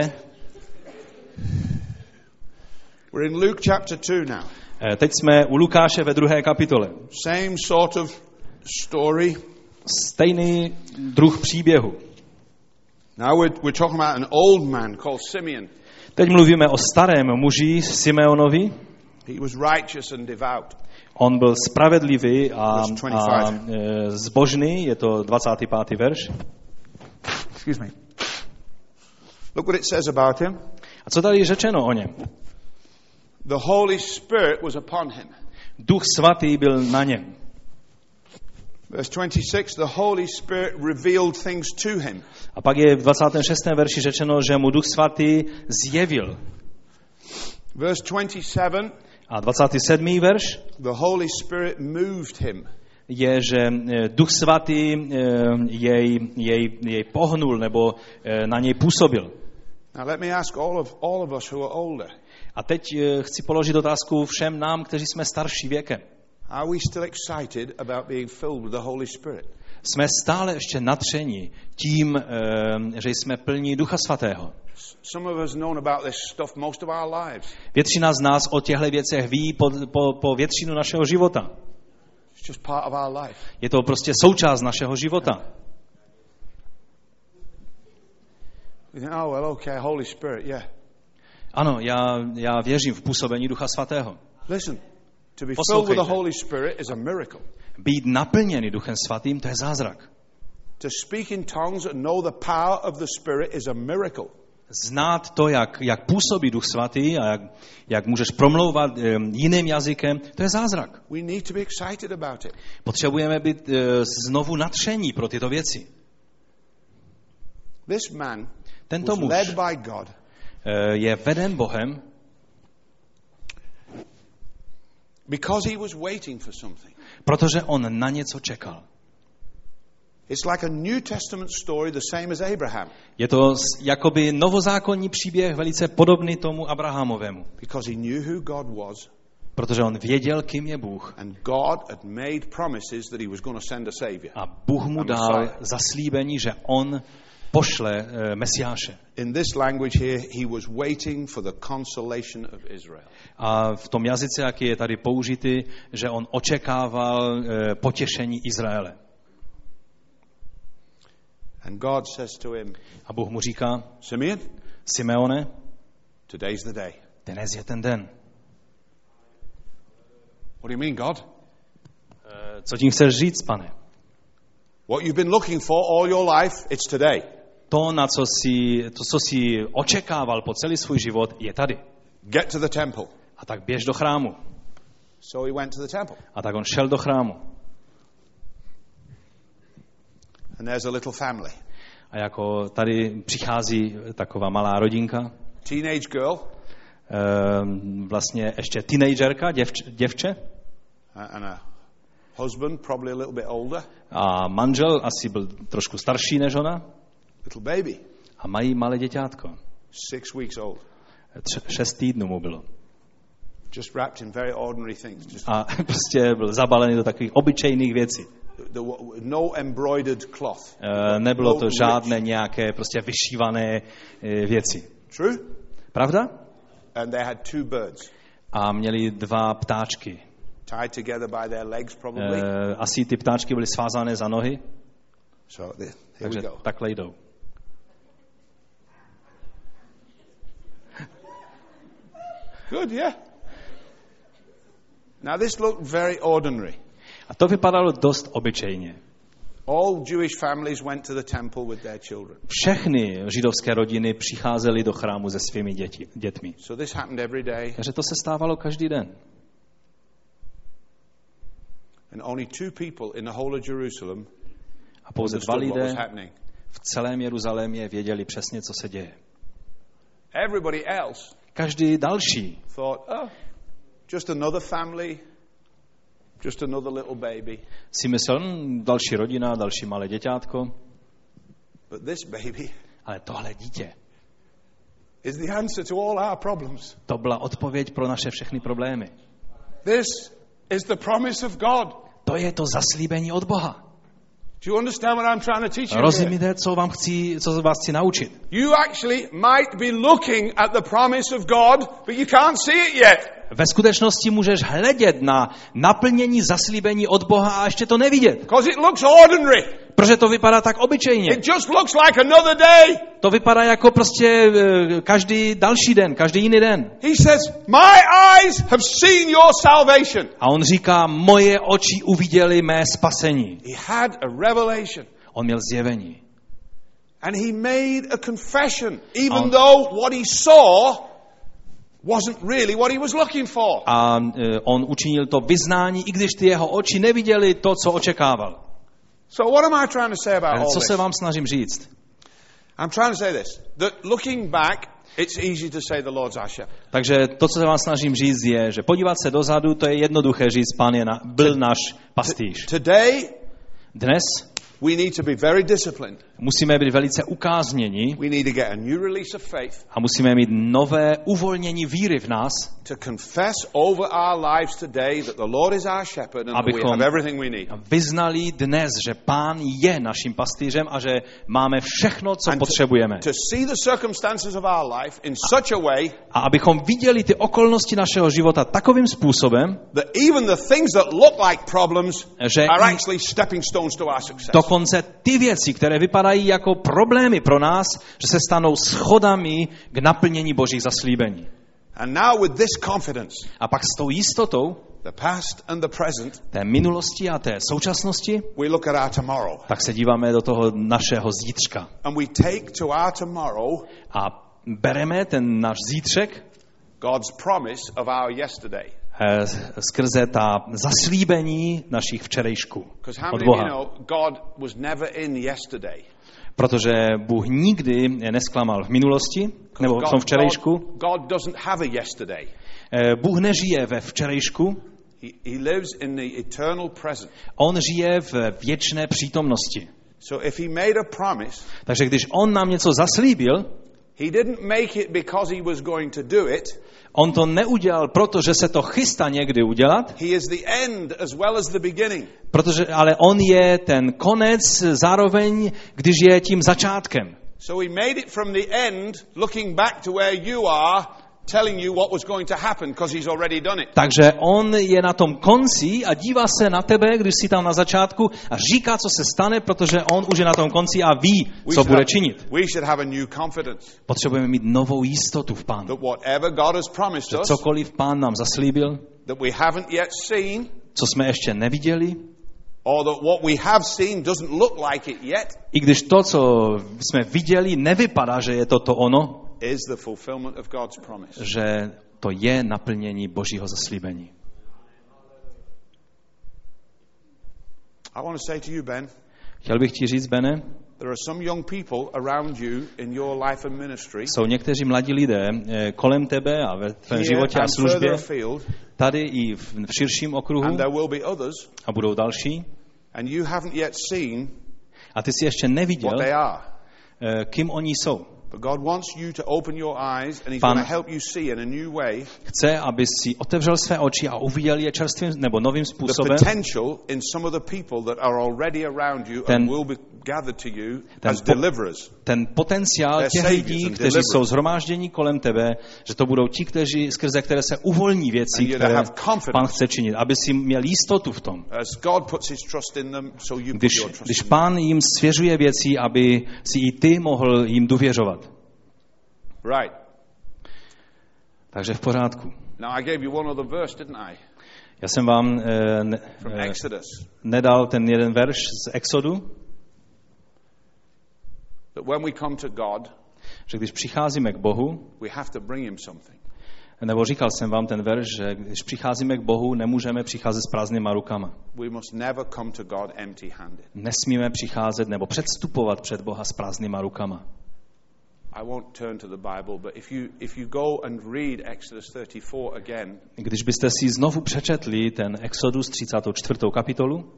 We're in Luke chapter two now. Eh, Teď jsme u Lukáše ve druhé kapitole. Same sort of story. Stejný druh příběhu. Now we're, we're talking about an old man called Simeon. Teď mluvíme o starém muži Simeonovi. He was righteous and devout. On byl spravedlivý a, Verse a twenty-five. e, zbožný, je to dvacátý pátý verš. Excuse me. Look what it says about him. A co tady je řečeno o něm? The Holy Spirit was upon him. Duch svatý byl na něm. Verse twenty-six, the Holy Spirit revealed things to him. A pak je v dvacátém šestém verši řečeno, že mu Duch svatý zjevil. Verse twenty-seven, A dvacátý sedmý verš the Holy Spirit moved him. je, že e, Duch svatý e, jej, jej, jej pohnul nebo e, na něj působil. Now let me ask all of all of us who are older. A teď e, chci položit otázku všem nám, kteří jsme starší věkem. Are we still excited about being filled with the Holy Spirit? Jsme stále ještě natřeni tím, e, že jsme plní Ducha svatého. Some of us known about this stuff most of our lives. Většina z nás o těchto věcech ví po, po, po většinu našeho života. It's just part of our life. Je to prostě součást našeho života. We think, oh well, okay, Holy Spirit, yeah. Ano, já, já věřím v působení Ducha svatého. Listen, to be filled with the Poslouchejte. Holy Spirit is a miracle. Být naplněný Duchem svatým, to je zázrak. To speak in tongues and know the power of the Spirit is a miracle. Znát to, jak, jak působí Duch svatý a jak, jak můžeš promlouvat um, jiným jazykem, to je zázrak. We need to be excited about it. Potřebujeme být uh, znovu nadšení pro tyto věci. This man Tento was muž led by God uh, je veden Bohem, because he was waiting for something. protože on na něco čekal. It's like a New Testament story the same as Abraham, Je to s- jakoby novozákonní příběh velice podobný tomu Abrahamovému, because he knew who God was protože on věděl, kým je Bůh. and God had made promises that he was going to send a savior. A Bůh mu dal zaslíbení, že on pošle uh, Mesiáše. In this language here, he was waiting for the consolation of Israel. A v tom jazyce, jaký je tady použitý, že on očekával uh, potěšení Izraele. And God says to him, A Bůh mu říká, Simeon, Simeone, today's the day. dnes je ten den. What do you mean, God? Uh, co tím chceš říct, pane? What you've been looking for all your life, it's today. To, na co jsi, to, co jsi očekával po celý svůj život, je tady. Get to the temple. A tak běž do chrámu. So he went to the temple. A tak on šel do chrámu. And there's a little family. A jako tady přichází taková malá rodinka, Teenage girl ehm, vlastně ještě teenagerka, děvč, děvče, and a husband, probably a little bit older, a manžel asi byl trošku starší než ona little baby, a mají malé děťátko. six weeks old, Tř, šest týdnů mu bylo. just wrapped in very ordinary things. Just A prostě byl zabalený do takových obyčejných věcí. the, no embroidered cloth. E, nebylo to No žádné rich. nějaké prostě vyšívané e, věci. True? Pravda? And they had two birds. A měli dva ptáčky. Tied together by their legs probably. E, asi ty ptáčky byly svázané za nohy. So here Takže we go. takhle jdou. Good, yeah. Now this looked very ordinary. A to vypadalo dost obyčejně. All Jewish families went to the temple with their children. Všechny židovské rodiny přicházely do chrámu se svými děti, dětmi. So this happened every day. Takže to se stávalo každý den. And only two people in the whole of Jerusalem A pouze dva understood what was lidé happening. v celém Jeruzalémě věděli přesně, co se děje. Everybody else Každý další thought, oh, just another family, just another little baby. si myslel, hm, další rodina, další malé děťátko, But this baby ale tohle dítě, is the answer to all our problems. to byla odpověď pro naše všechny problémy. This is the promise of God. To je to zaslíbení od Boha. Do you understand what I'm trying to teach you here? Rozumíte, co vám chci, co vás chci naučit? You actually might be looking at the promise of God, but you can't see it yet. Ve skutečnosti můžeš hledět na naplnění zaslíbení od Boha a ještě to nevidět. Because it looks ordinary. Protože to vypadá tak obyčejně. It just looks like another day. To vypadá jako prostě eh, každý další den, každý jiný den. He says, my eyes have seen your salvation. A on říká, moje oči uviděly mé spasení. He had a revelation. On měl zjevení. And he made a confession, even On- though what he saw wasn't really what he was looking for. A eh, on učinil to vyznání, i když ty jeho oči neviděli to, co očekával. So what am I trying to say about Ale all co this? se vám snažím říct? I'm trying to say this, that looking back, it's easy to say the Lord's our shepherd. Takže to, co se vám snažím říct, je, že podívat se dozadu, to je jednoduché říct, Pán je na, byl náš pastýř. Today, Dnes we need to be very disciplined. musíme být velice ukázněni We need to get a new release of faith a musíme mít nové uvolnění víry v nás, to confess over our lives today that the Lord is our shepherd and that we Abychom- have everything we need. a vyznali dnes, že Pán je naším pastýřem a že máme všechno, co And to- potřebujeme. To see the circumstances of our life in such a way A abychom viděli ty okolnosti našeho života takovým způsobem, that even the things that look like problems Že are i- actually stepping stones to our success. dokonce ty věci, které vypadají jako problémy pro nás, že se stanou schodami k naplnění Božích zaslíbení. And now with this confidence, A pak s tou jistotou the past and the present, té minulosti a té současnosti, we look at our tomorrow. tak se díváme do toho našeho zítřka. And we take to our tomorrow A bereme ten náš zítřek God's promise of our yesterday. eh, skrze ta zaslíbení našich včerejšků Because how od many of you Boha. know God was never in yesterday? Protože Bůh nikdy nesklamal v minulosti, nebo v tom God, včerejšku. God, God doesn't have a yesterday. Eh, Bůh nežije ve včerejšku, He, he lives in the eternal present. on žije v věčné přítomnosti. So if he made a promise, Takže když on nám něco zaslíbil, he didn't make it because he was going to do it. on to neudělal, protože se to chystá někdy udělat, He is the end as well as the beginning. protože, ale on je ten konec zároveň, když je tím začátkem. So he made it from the end, looking back to where you are, telling you what was going to happen because he's already done it. Takže on je na tom konci a dívá se na tebe, když jsi tam na začátku a říká, co se stane, protože on už je na tom konci a ví, We co should bude have- činit. We should have a new confidence Potřebujeme mít novou jistotu v Pánu. that whatever God has promised Že us, cokoliv Pán nám zaslíbil, that we haven't yet seen, co jsme ještě neviděli, or that what we have seen doesn't look like it yet, i když to, co jsme viděli, nevypadá, že je to to ono, is the fulfillment of God's promise. že to je naplnění Božího zaslíbení. I want to say to you, Ben, Chtěl bych ti říct, Bene, there are some young people around you in your life and ministry, jsou někteří mladí lidé eh, kolem tebe a ve tvém here životě a and further službě, afield, tady i v, v širším okruhu, and there will be others, a budou další, and you haven't yet seen a ty si ještě neviděl, what they are. eh, kým oni jsou. But God wants you to open your eyes, and He's Pan- going to help you see in a new way Chce, aby si otevřel své oči a uviděl je čerstvým nebo novým the způsobem, potential in some of the people that are already around you Ten- and will be, gathered to you ten, as deliverers. Ten potenciál těch lidí, kteří jsou shromáždění kolem tebe, že to budou ti, kteří, skrze které se uvolní věci, které Pán chce činit, aby si měl jistotu v tom. Když, když Pán jim svěřuje věci, aby si i ty mohl jim důvěřovat. Right. Takže v pořádku. Now I gave you one other verse, didn't I? Já jsem vám eh, ne, eh, nedal ten jeden verš z Exodu, that when we come to God, že když přicházíme k Bohu, we have to bring him something. Nebo říkal jsem vám ten verš, že když přicházíme k Bohu, nemůžeme přicházet s prázdnýma rukama. We must never come to God empty-handed. Nesmíme přicházet nebo předstupovat před Boha s prázdnýma rukama. I won't turn to the Bible, but if you if you go and read Exodus thirty-four again, když byste si znovu přečetli ten Exodus třicátou čtvrtou kapitolu,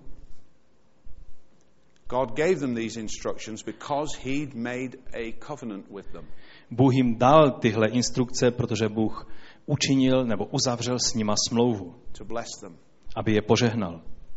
God gave them these instructions because he'd made a covenant with them. Bůh jim dal tyhle instrukce, protože Bůh učinil nebo uzavřel s nima smlouvu, to bless them. Aby je požehnal.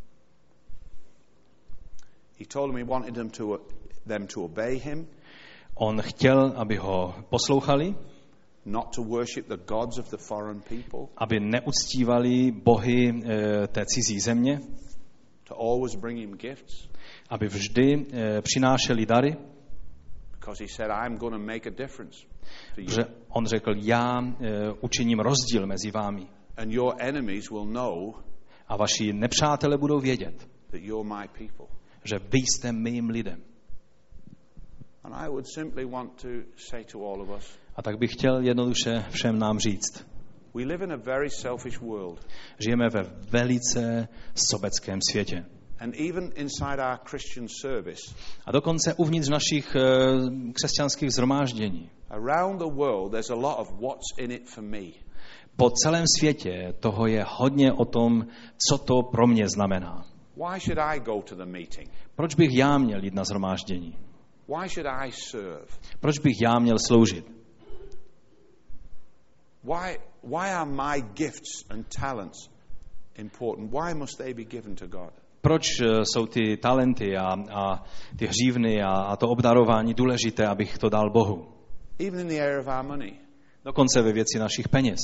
He told them he wanted them to them to obey him. On chtěl, aby ho poslouchali, not to worship the gods of the foreign people, aby neuctívali bohy e, té cizí země, to always bring him gifts, aby vždy e, přinášeli dary, because he said, I'm going to make a difference to you. Že on řekl, já e, učiním rozdíl mezi vámi. And your enemies will know a vaši nepřátelé budou vědět, that you're my people. Že vy jste mým lidem. And I would simply want to say to all of us, a tak bych chtěl jednoduše všem nám říct. We live in a very selfish world. Žijeme ve velice sobeckém světě. And even inside our Christian service, a dokonce uvnitř našich uh, křesťanských shromáždění. Around the world there's a lot of what's in it for me. Po celém světě toho je hodně o tom, co to pro mě znamená. Why should I go to the meeting? Proč bych já měl jít na shromáždění? Why should I serve? Proč bych já měl sloužit? Why, why are my gifts and talents important? Why must they be given to God? Proč jsou ty talenty a, a ty hřívny a, a to obdarování důležité, abych to dal Bohu? Even in the area of our money. Dokonce ve věci našich peněz.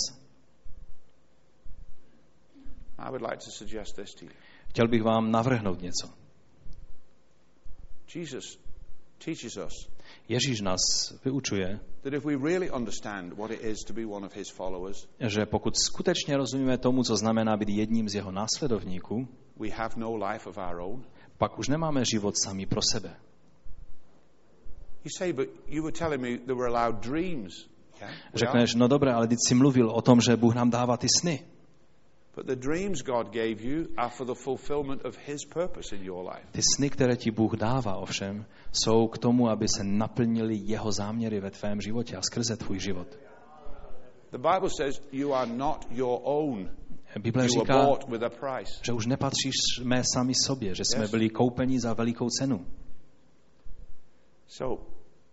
I would like to suggest this to you. Chtěl bych vám navrhnout něco. Jesus teaches us. Ježíš nás vyučuje, that if we really understand what it is to be one of his followers, že pokud skutečně rozumíme tomu, co znamená být jedním z jeho následovníků, we have no life of our own. Pak už nemáme život sami pro sebe. You say, but you were telling me there were allowed dreams. Yeah? Řekneš, no dobré, ale teď jsi mluvil o tom, že Bůh nám dává ty sny. But the dreams God gave you are for the fulfillment of his purpose in your life. Ty sny, které ti Bůh dává, ovšem, jsou k tomu, aby se naplnili jeho záměry ve tvém životě a skrze tvůj život. The Bible says you are not your own. Bible říká, že už nepatříš sami sobě, že jsme byli koupeni za velikou cenu. So,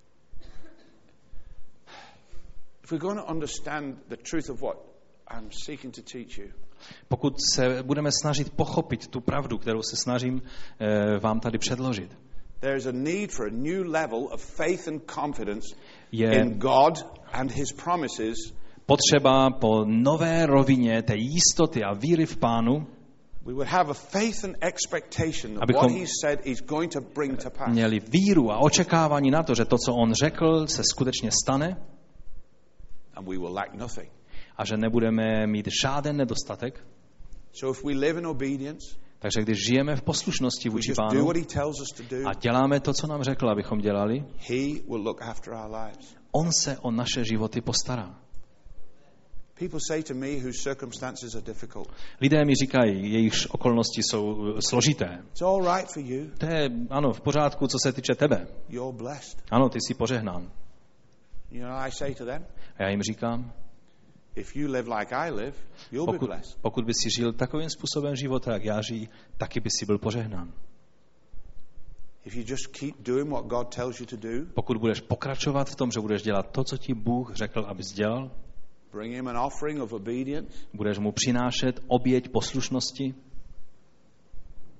if we're going to understand the truth of what I'm seeking to teach you, pokud se budeme snažit pochopit tu pravdu, kterou se snažím eh, vám tady předložit, there is a need for a new level of faith and confidence in God and his promises. Potřeba po nové rovině té jistoty a víry v Pánu, we would have a faith and expectation that what he said is going to bring to pass. Měli víru a očekávání na to, že to, co on řekl, se skutečně stane. And we will lack nothing. A že nebudeme mít žádný nedostatek. So if we live in obedience, takže když žijeme v poslušnosti vůči Pánu a děláme to, co nám řekl, abychom dělali, he will look after our lives. On se o naše životy postará. People say to me whose circumstances are difficult. Lidé mi říkají, jejichž okolnosti jsou složité. It's all right for you. To je, ano, v pořádku, co se týče tebe. You're blessed. Ano, ty jsi požehnán. You know, I say to them, a já jim říkám, if you live like I live, you'll pokud, be blessed. Pokud by si žil takovým způsobem života, jak já žiji, taky by si byl požehnán. If you just keep doing what God tells you to do, pokud budeš pokračovat v tom, že budeš dělat to, co ti Bůh řekl, abys dělal, bring him an offering of obedience, budeš mu přinášet oběť poslušnosti,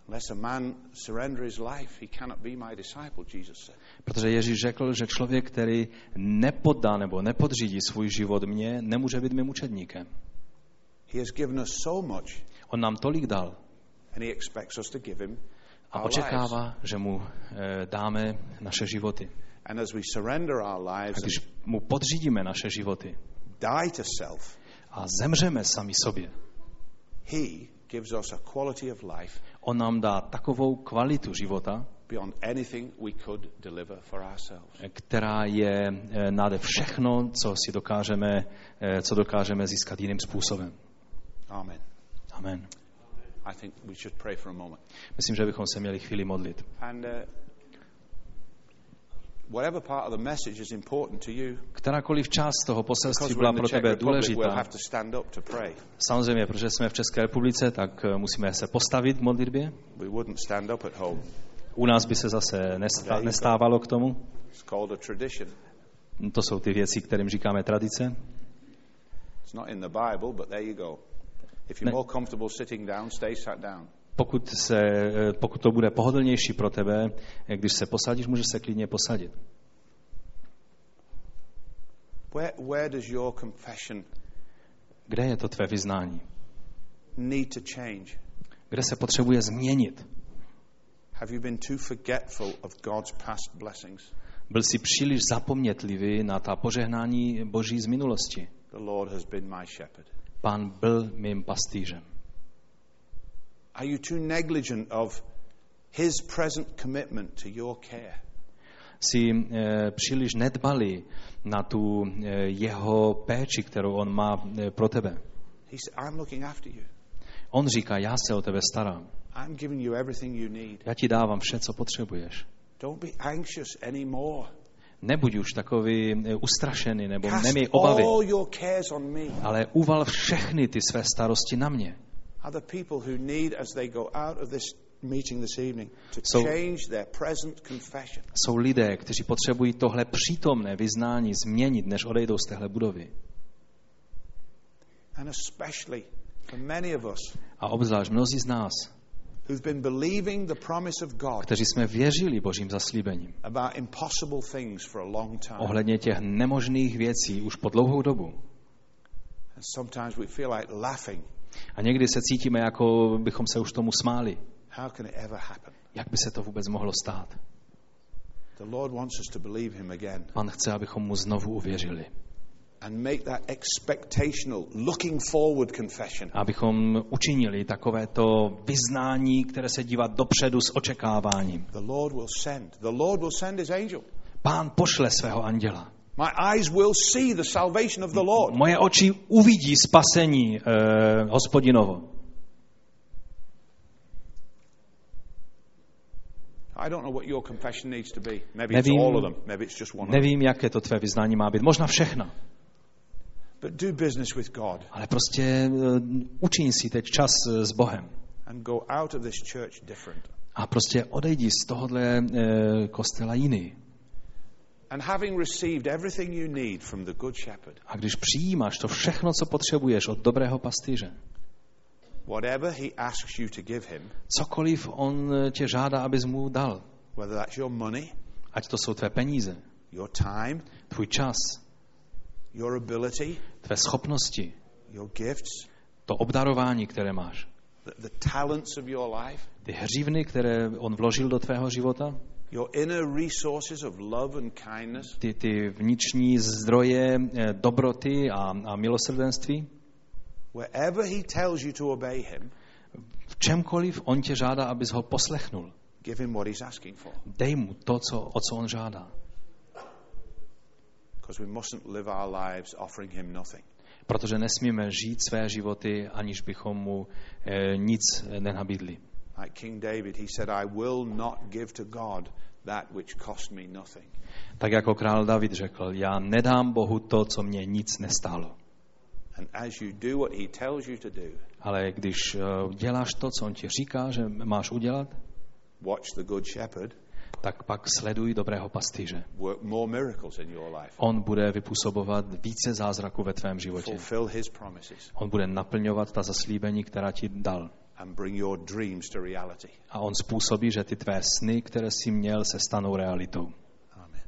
Unless a man surrender his life, he cannot be my disciple, Jesus said. Protože Ježíš řekl, že člověk, který nepoddá nebo nepodřídí svůj život mně, nemůže být mým učedníkem. He has given us so much. On nám tolik dal. And he expects us to give him A očekává, že mu e, dáme naše životy. And as we surrender our lives, a když mu podřídíme naše životy die to self, a zemřeme sami sobě, he gives us a quality of life on nám dá takovou kvalitu života, beyond anything we could deliver for ourselves. která je nade všechno, co si dokážeme, co dokážeme získat jiným způsobem. Amen. Amen. I think we should pray for a moment. Myslím, že bychom se měli chvíli modlit. And uh, whatever part of the message is important to you, kterákoliv část toho poselství byla pro tebe důležitá. Samozřejmě, protože jsme v České republice, tak musíme se postavit v modlitbě. U nás by se zase nestávalo k tomu. To jsou ty věci, kterým říkáme tradice. Ne. Pokud, se, pokud to bude pohodlnější pro tebe, když se posadíš, můžeš se klidně posadit. Where, where does your confession Kde je to tvé vyznání? need to change? Kde se potřebuje změnit? Have you been too forgetful of God's past blessings? Byl jsi příliš zapomnětlivý na ta požehnání Boží z minulosti. The Lord has been my shepherd. Pán byl mým pastýřem. Are you too negligent of his present commitment to your care? Jsi e, příliš nedbalý na tu e, jeho péči, kterou on má e, pro tebe. He said, I'm looking after you. On říká, já se o tebe starám. I'm giving you everything you need. Já ti dávám vše, co potřebuješ. Don't be anxious anymore. Nebuď už takový e, ustrašený, nebo Cast neměj obavy, all your cares on me. ale uval všechny ty své starosti na mě. Other people who need, as they go out of this meeting this evening, to So- change their present confession. Jsou lidé, kteří potřebují tohle přítomné vyznání změnit, než odejdou z téhle budovy. And especially for many of us A obzvlášť mnozí z nás, who've been believing the promise of God kteří jsme věřili Božím zaslíbením about impossible things for a long time. ohledně těch nemožných věcí už po dlouhou dobu. And sometimes we feel like laughing. A někdy se cítíme, jako bychom se už tomu smáli. How can it ever happen? Jak by se to vůbec mohlo stát? The Lord wants us to believe him again Pan chce, abychom mu znovu uvěřili. and make that expectational, looking forward confession. Abychom učinili takovéto vyznání, které se dívá dopředu s očekáváním. The Lord will send. The Lord will send his angel. Pán pošle svého anděla. My eyes will see the salvation of the Lord. Moje oči uvidí spasení eh, Hospodinovo. I don't know what your confession needs to be. Maybe Nevím, it's all of them. Maybe it's just one of them. nevím, jaké to tvé vyznání má být. Možná všechno. But do business with God Ale prostě eh, učiň si teď čas eh, s Bohem. and go out of this church different. A prostě odejdi z tohohle eh, kostela jiný. And having received everything you need from the Good Shepherd, A když přijímáš to všechno, co potřebuješ od dobrého pastýře, whatever he asks you to give him, cokoliv on tě žádá, abys mu dal, whether that's your money, ať to jsou tvé peníze, your time, tvůj čas, your ability, tvé schopnosti, your gifts, to obdarování, které máš, the, the talents of your life, ty hřívny, které on vložil do tvého života, your inner resources of love and kindness, ty, ty vnitřní zdroje eh, dobroty a, a milosrdenství, wherever he tells you to obey him, v čemkoliv on tě žádá, abys ho poslechnul. give him what he's asking for. Dej mu to, co, o co on žádá. Because we mustn't live our lives offering him nothing. Protože nesmíme žít své životy, aniž bychom mu eh, nic nenabídli. Like King David, he said, I will not give to God that which cost me nothing. Tak jako král David řekl, já nedám Bohu to, co mě nic nestálo. And as you do what he tells you to do, Ale když uh, děláš to, co on ti říká, že máš udělat, watch the Good Shepherd tak pak sleduj dobrého pastýře. work more miracles in your life. On bude vypůsobovat více zázraků ve tvém životě. Fulfill his promises. On bude naplňovat ta zaslíbení, která ti dal. and bring your dreams to reality. A on způsobí, že ty tvé sny, které jsi měl, se stanou realitou. Amen.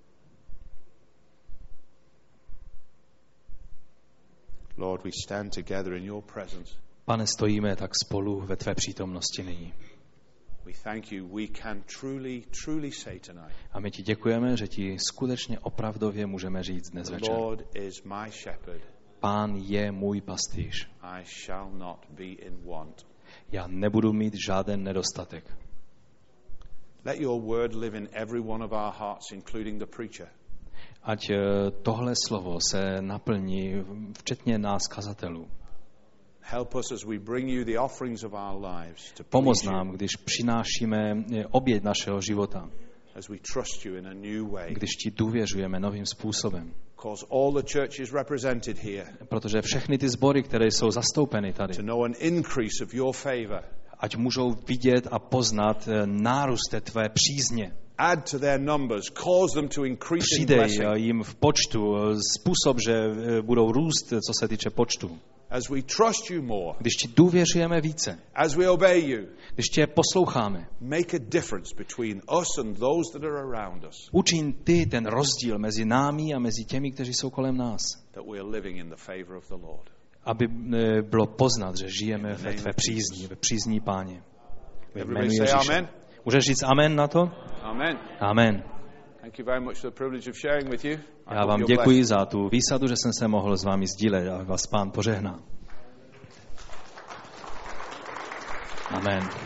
Lord, we stand together in your presence. Pane, stojíme tak spolu ve tvé přítomnosti nyní. We thank you. We can truly, truly say tonight. A my ti děkujeme, že ti skutečně opravdově můžeme říct dnes The večer. Lord is my shepherd. Pán je můj pastýř. I shall not be in want. Já nebudu mít žádný nedostatek. Let your word live in every one of our hearts, including the preacher. Ať tohle slovo se naplní, včetně nás kazatelů. Help us as we bring you the offerings of our lives to Pomoz please nám, you, když přinášíme oběť našeho života, as we trust you in a new way. když ti důvěřujeme novým způsobem. Cause all the churches represented here Protože všechny ty sbory, které jsou zastoupeny tady, to know an increase of your favor. ať můžou vidět a poznat nárůst té tvé přízně. Add to their numbers, cause them to increase in Přidej blessing. jim v počtu způsob, že budou růst, co se týče počtu. As we trust you more, Když ti důvěřujeme více, as we obey you, když tě posloucháme, make a difference between us and those that are around us, učin ty ten rozdíl mezi námi a mezi těmi, kteří jsou kolem nás. that we are living in the favor of the Lord. Aby bylo poznat, že žijeme ve tvé přízni, ve přízní Páně. Ve jménu Everybody say Ježíše. amen. Můžeš říct amen na to? Amen. Amen. Thank you very much for the privilege of sharing with you. I Já hope vám you're děkuji blessed. za tu výsadu, že jsem se mohl s vámi sdílet a vás Pán požehná. Amen.